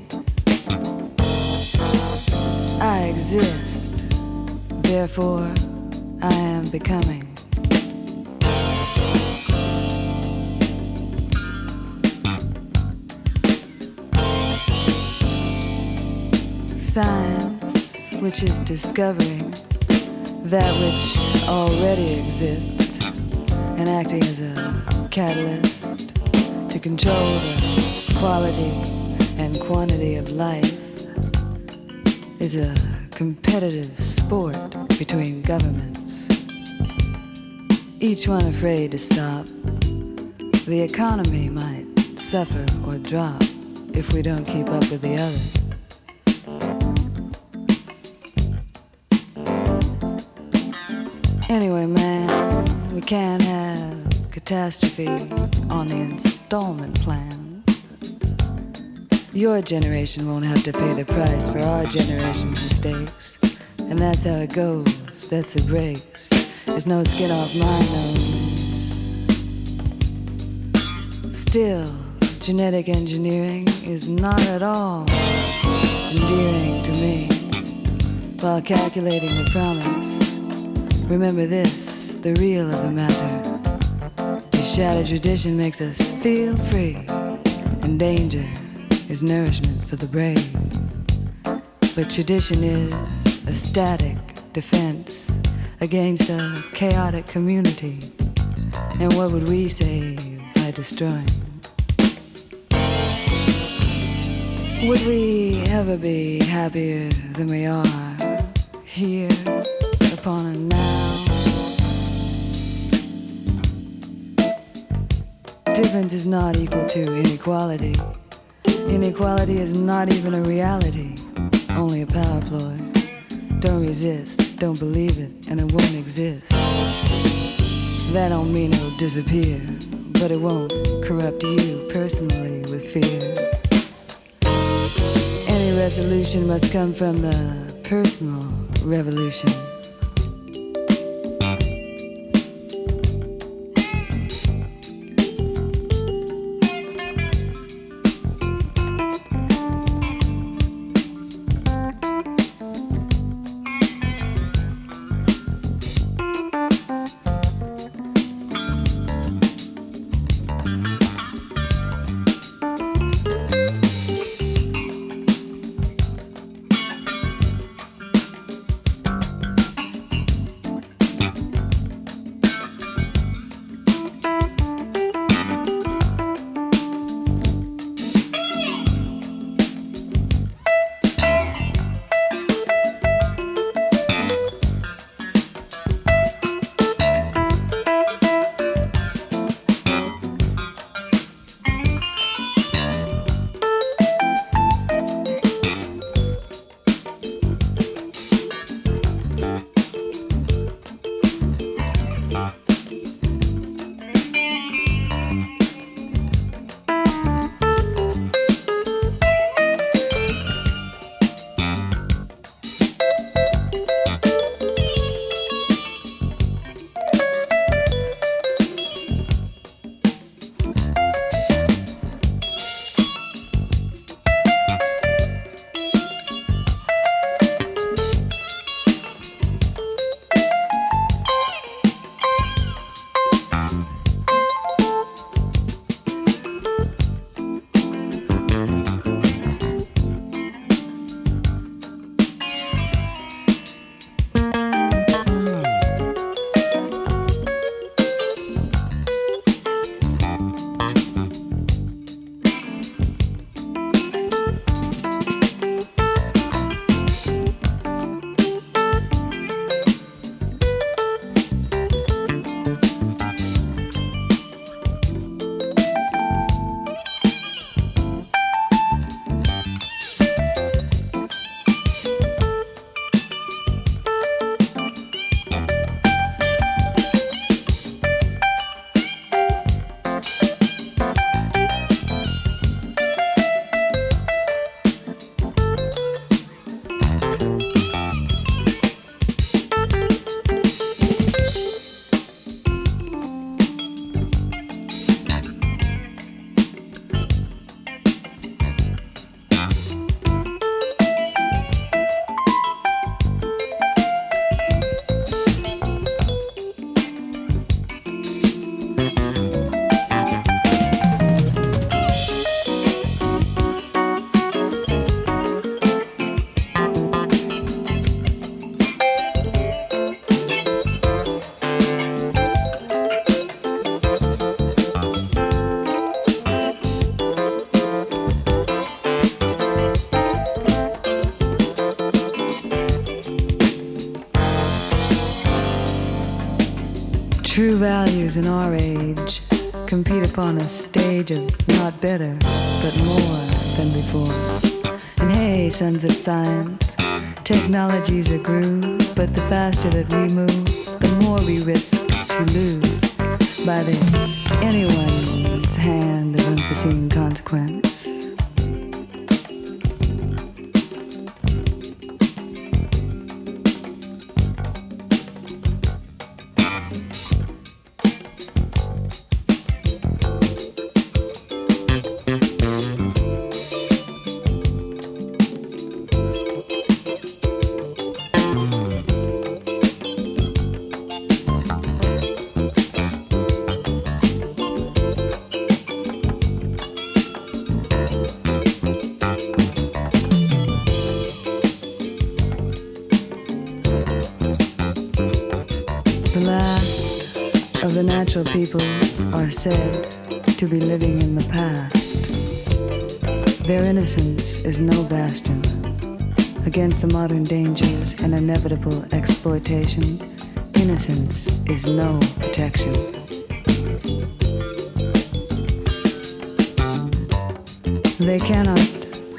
J: I exist, therefore I am becoming. Science, which is discovering that which already exists and acting as a catalyst to control the quality and quantity of life, is a competitive sport between governments, each one afraid to stop. The economy might suffer or drop if we don't keep up with the others. Anyway, man, we can't have catastrophe on the installment plan. Your generation won't have to pay the price for our generation's mistakes. And that's how it goes, that's the breaks. There's no skin off my nose. Still, genetic engineering is not at all endearing to me. While calculating the promise, remember this, the real of the matter. Shattered tradition makes us feel free, and danger is nourishment for the brave. But tradition is a static defense against a chaotic community. And what would we save by destroying? Would we ever be happier than we are here upon a now? Difference is not equal to inequality. Inequality is not even a reality, only a power ploy. Don't resist, don't believe it, and it won't exist. That don't mean it'll disappear, but it won't corrupt you personally with fear. Any resolution must come from the personal revolution. True values in our age compete upon a stage of not better, but more than before. And hey, sons of science, technologies are grew, but the faster that we move, the more we risk to lose by the anyone's hand of unforeseen consequence. The natural peoples are said to be living in the past. Their innocence is no bastion against the modern dangers and inevitable exploitation. Innocence is no protection. They cannot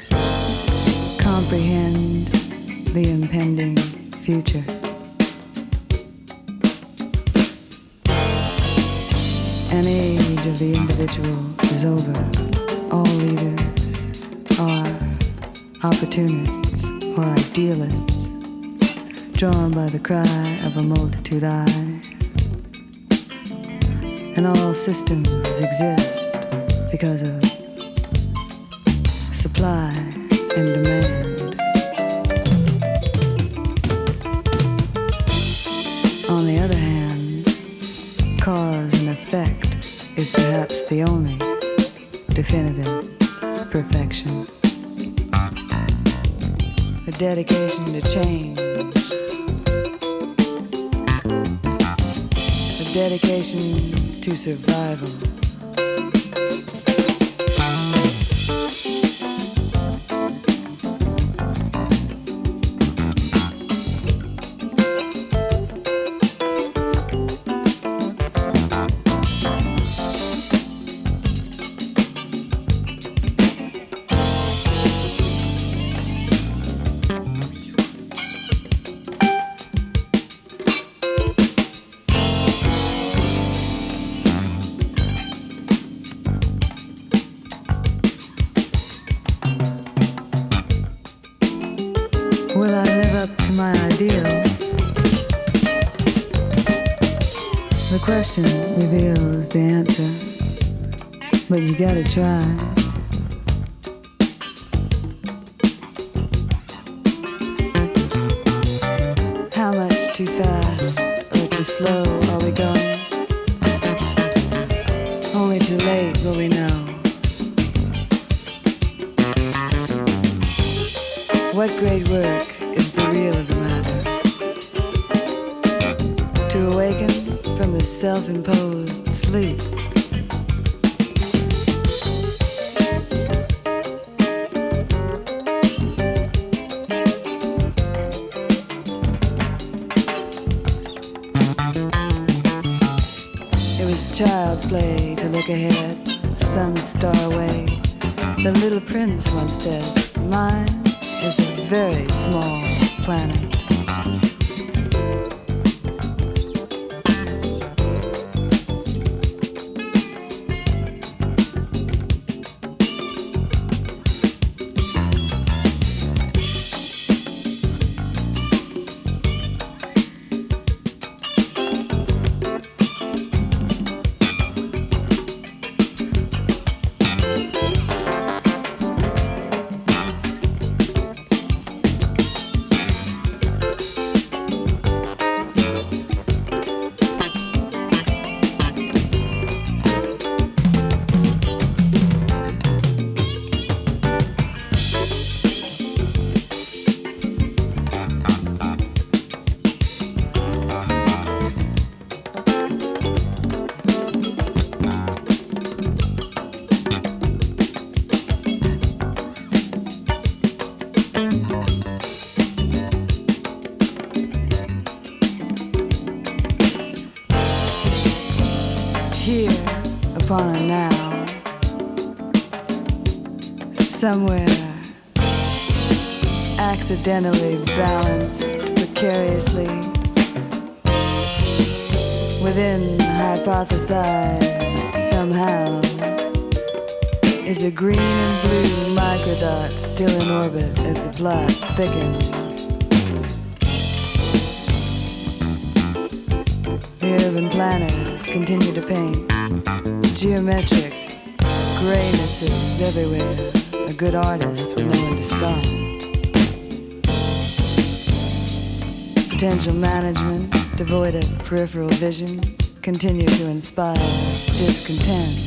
J: comprehend the impending future. An age of the individual is over. All leaders are opportunists or idealists, drawn by the cry of a multitude eye. And all systems exist because of supply and demand. On the other hand, cause and effect is perhaps the only definitive perfection. A dedication to change. A dedication to survival. Will I live up to my ideal? The question reveals the answer, but you gotta try. How much too fast or too slow are we going? Only too late will we know. What great work is the real of the matter? To awaken from the self-imposed sleep. It was child's play to look ahead, some star away. The little prince once said, mine is a very small planet. fauna now. Somewhere accidentally balanced precariously within hypothesized somehow is a green and blue microdot still in orbit as the plot thickens. The urban planners continue to paint geometric graynesses everywhere. A good artist would know when to stop. Potential management, devoid of peripheral vision, continue to inspire discontent.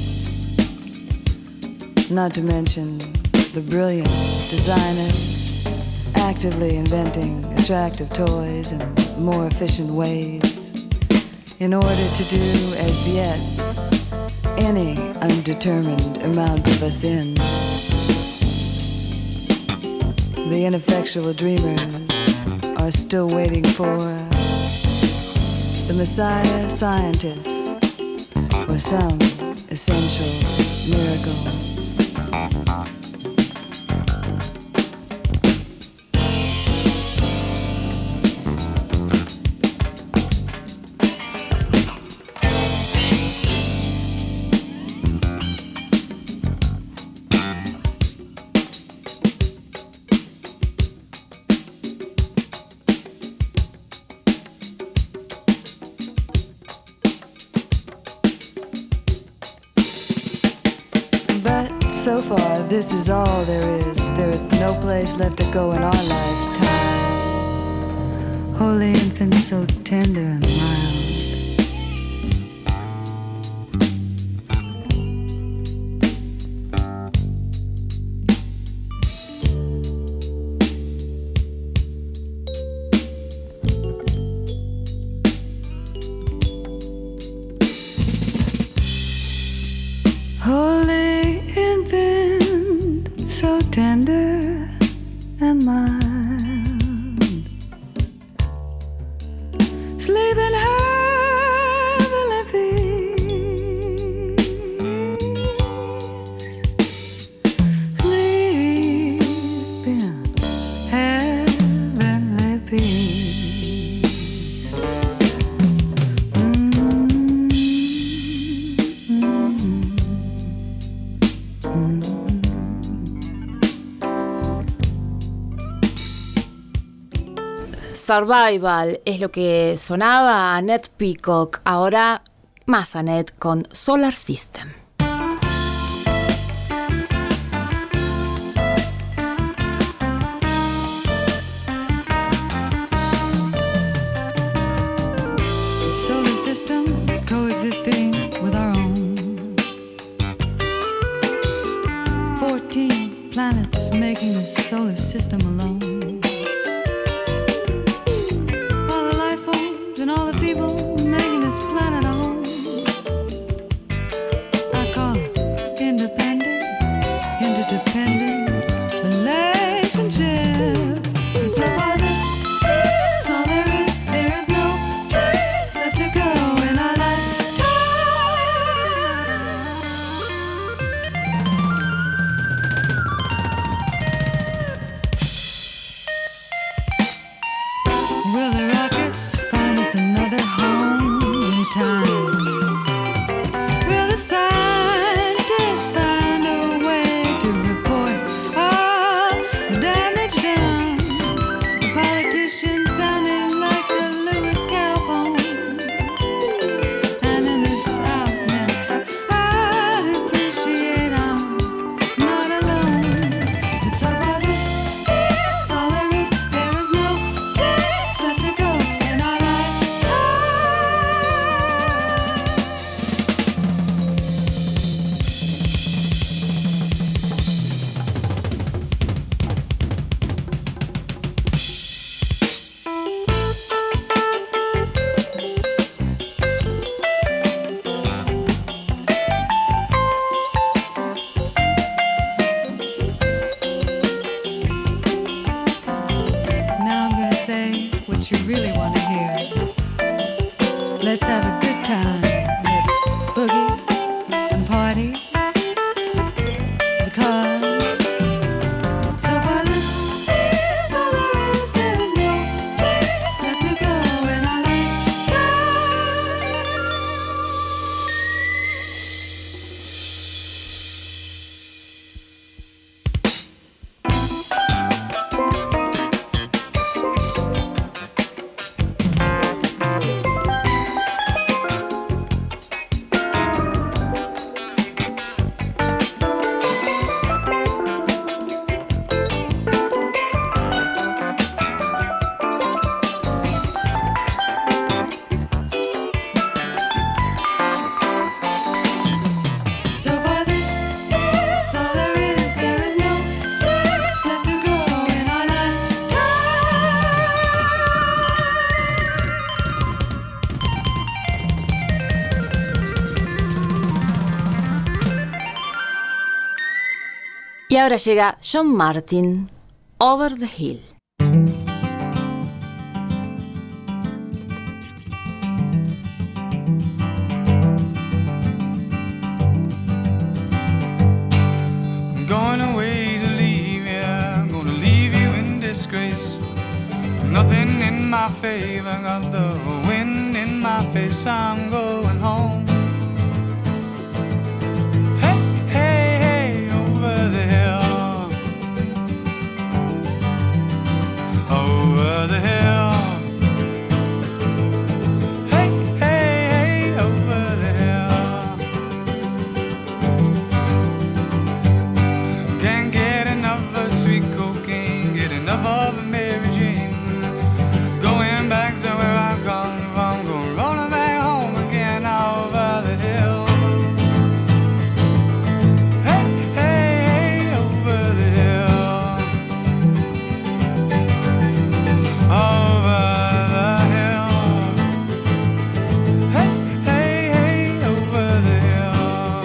J: Not to mention the brilliant designers actively inventing attractive toys and more efficient ways in order to do as yet any undetermined amount of us in. The ineffectual dreamers are still waiting for the Messiah scientist or some essential miracle. So far, this is all there is. There is no place left to go in our lifetime. Holy infant, so tender and mild. Tender and mild, sleep in heavenly peace, sleep in heavenly peace. Mm-hmm. Mm-hmm.
B: Survival es lo que sonaba a Annette Peacock, ahora más Annette con Solar System.
J: The solar system is coexisting with our own. Fourteen planets making a solar system alone. And all the people making this planet a home. I call it independent, interdependent relationship. And so far this is all there is. There is no place left to go in our lifetime. Will the rockets find us another home in time? Will the scientists find a way to report all the damage done? The politicians sounding like a Lewis Carroll poem. And in this outness, I appreciate I'm not alone. It's so far this is all there is. There is no place left to go in our Now I'm gonna say what you really want to hear. Let's have a good time. Let's boogie and party.
B: Y ahora llega John Martin, Over the Hill.
K: I'm going away to leave you, I'm gonna leave you in disgrace. Nothing in my favor, got the wind in my face, I'm going home. Over the hill, hey, hey, hey, over the hill. Can't get enough of sweet cocaine, get enough of Mary Jane. Going back to where I've come from, going rolling back home again over the hill. Hey, hey, hey, over the hill. Over the hill, hey, hey, hey, over the hill.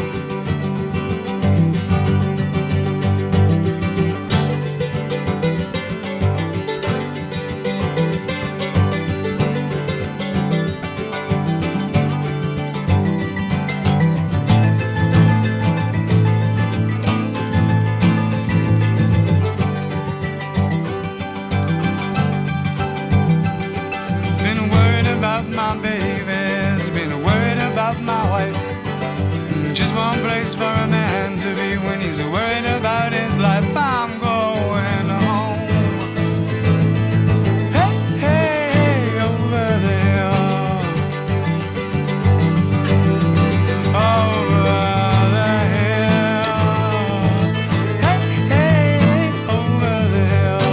K: Been worried about my babies, been worried about my wife. Just one place for a man to be when he's worried about his life. I'm going home. Hey, hey, hey, over the hill. Over the hill. Hey, hey, hey, over the hill.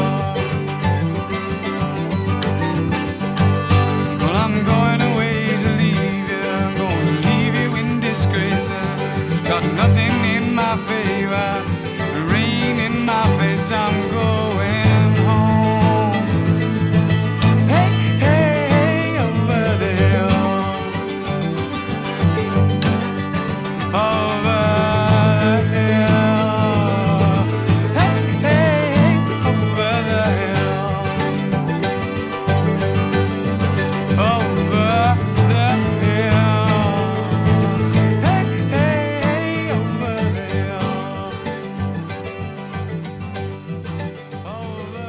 K: Well, I'm going away to leave you, I'm going to leave you in disgrace. Got nothing in my favor, rain in my face, I'm going home. Hey, hey, hey, over the hill. Over the hill. Hey, hey, hey, over the hill. Over the hill. Hey, hey, hey, over the hill. Over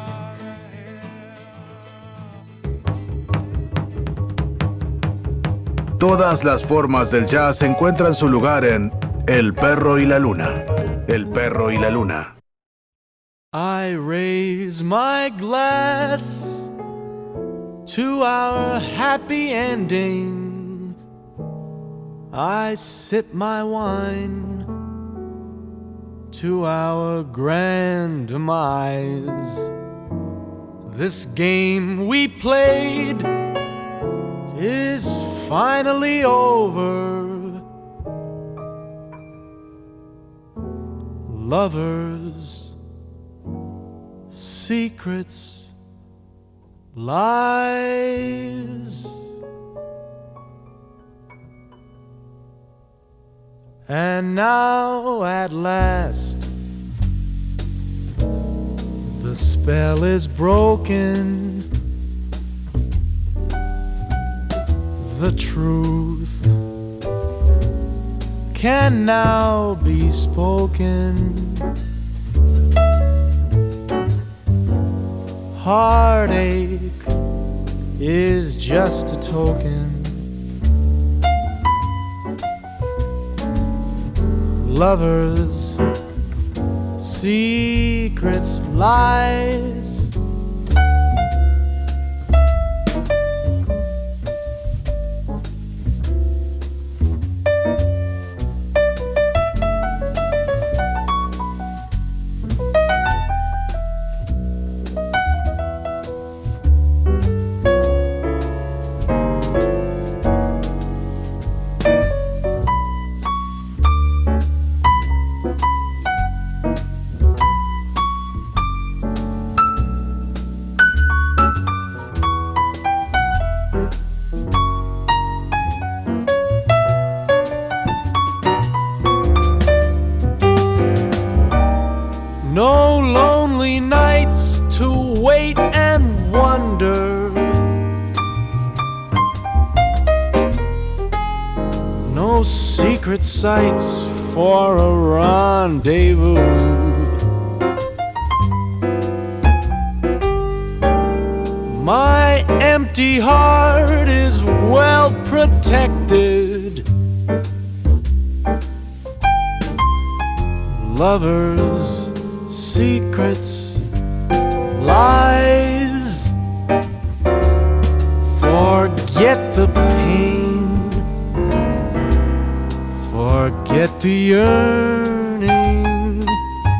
A: Todas las formas del jazz encuentran su lugar en El Perro y la Luna. El Perro y la Luna.
H: I raise my glass to our happy ending. I sip my wine to our grand demise. This game we played is finally over. Lovers, secrets, lies, and now at last the spell is broken. The truth can now be spoken. Heartache is just a token. Lovers, secrets, lies. wait and wonder. No secret sights for a rendezvous. My empty heart is well protected. Lovers, secrets, lies. Forget the pain, forget the yearning.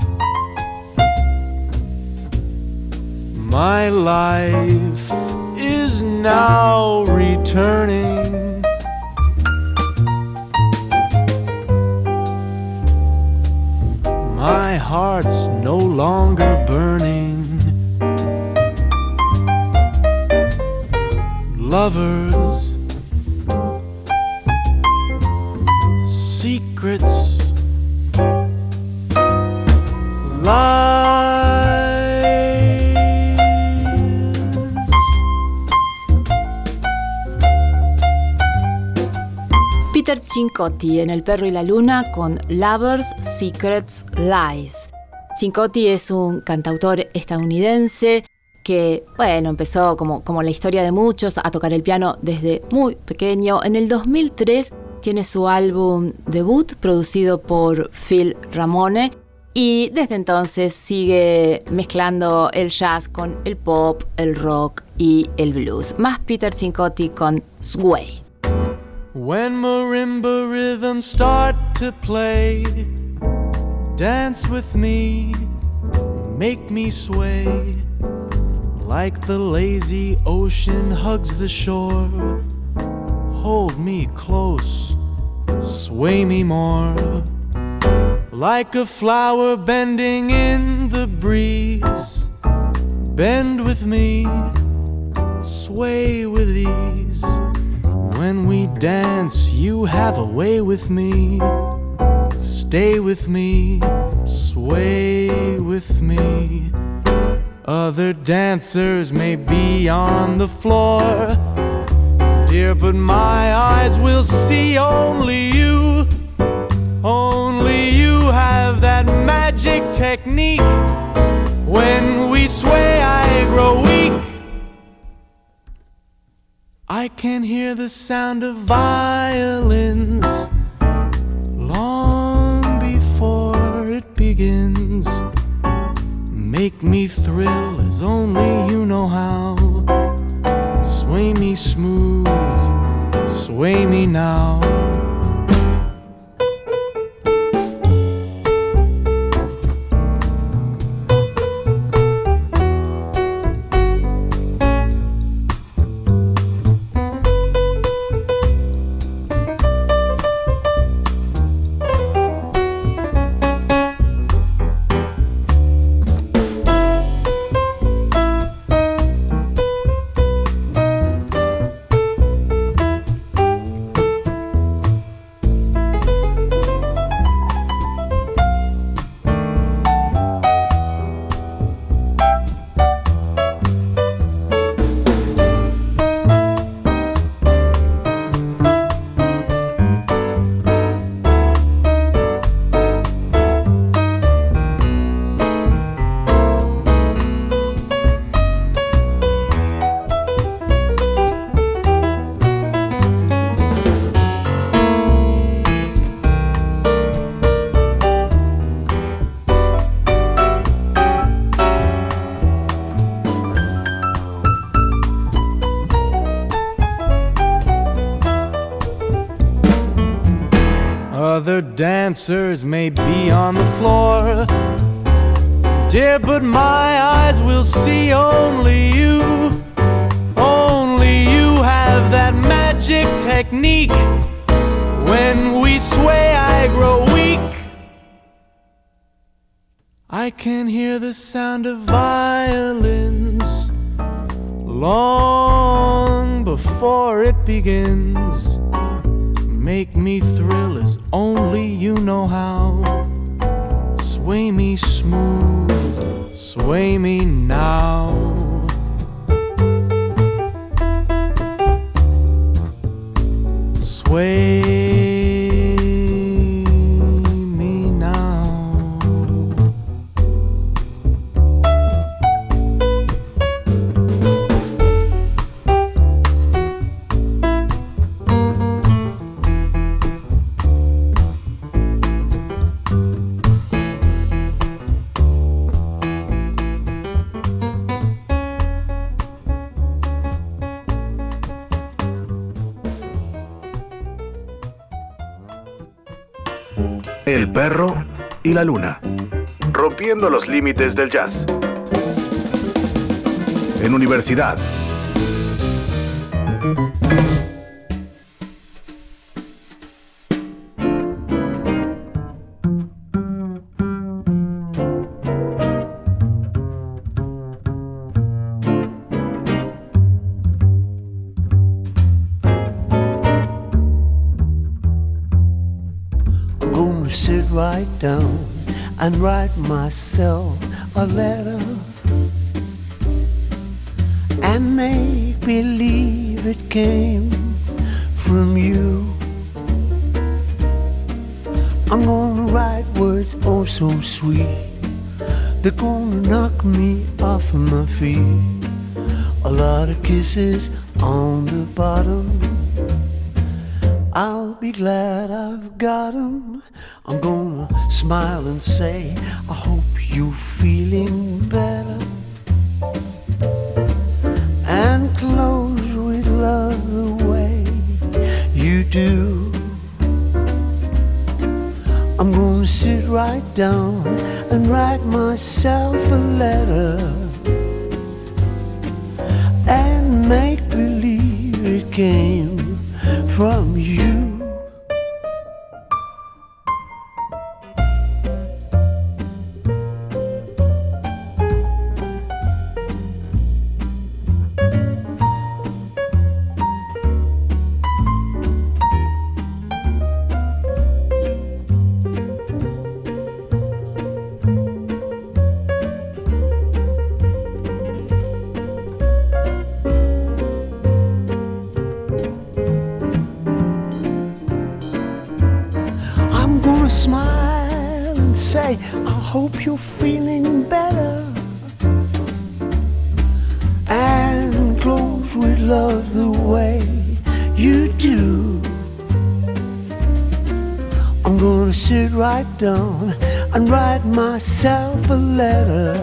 H: My life is now returning. My heart's no longer burning. Lovers, secrets, lies.
B: Peter Cincotti en El perro y la luna con Lovers, Secrets, Lies. Cincotti es un cantautor estadounidense que, bueno, empezó como, como la historia de muchos a tocar el piano desde muy pequeño. En el dos mil tres tiene su álbum debut producido por Phil Ramone y desde entonces sigue mezclando el jazz con el pop, el rock y el blues. Más Peter Cincotti con Sway.
H: When marimba rhythms start to play, dance with me, make me sway, like the lazy ocean hugs the shore. Hold me close, sway me more, like a flower bending in the breeze. Bend with me, sway with ease. When we dance, you have a way with me. Stay with me, sway with me. Other dancers may be on the floor, dear, but my eyes will see only you. Only you have that magic technique. When we sway, I grow weak. I can hear the sound of violins long before it begins. Make me thrill as only you know how. Sway me smooth, sway me now. Other dancers may be on the floor, dear, but my eyes will see only you. Only you have that magic technique. When we sway, I grow weak. I can hear the sound of violins long before it begins. Make me thrill as only you know how. Sway me smooth, sway me now. Sway me now.
A: El perro y la luna. Rompiendo los límites del jazz. En Universidad.
L: Sit right down and write myself a letter and make believe it came from you. I'm gonna write words oh so sweet, they're gonna knock me off of my feet. A lot of kisses on the bottom, I'll be glad I've got 'em. I'm gonna smile and say, I hope you're feeling better. And close with love the way you do. I'm gonna sit right down and write myself a letter and make believe it came from you. Smile and say, I hope you're feeling better. And close with love the way you do. I'm gonna sit right down and write myself a letter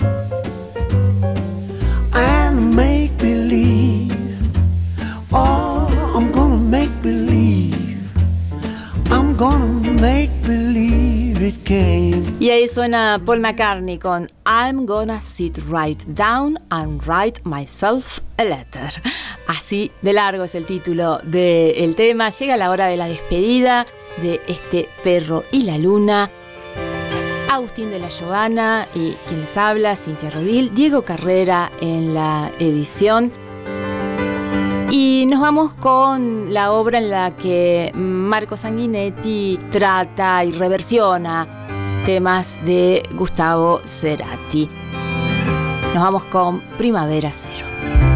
L: and make believe. Oh, I'm gonna make believe. I'm gonna make believe it came.
B: Y ahí suena Paul McCartney con I'm gonna sit right down and write myself a letter. Así de largo es el título del tema. Llega la hora de la despedida de este perro y la luna. Agustín de la Giovanna y quien les habla, Cintia Rodil, Diego Carrera en la edición. Y nos vamos con la obra en la que Marco Sanguinetti trata y reversiona temas de Gustavo Cerati. Nos vamos con Primavera Cero.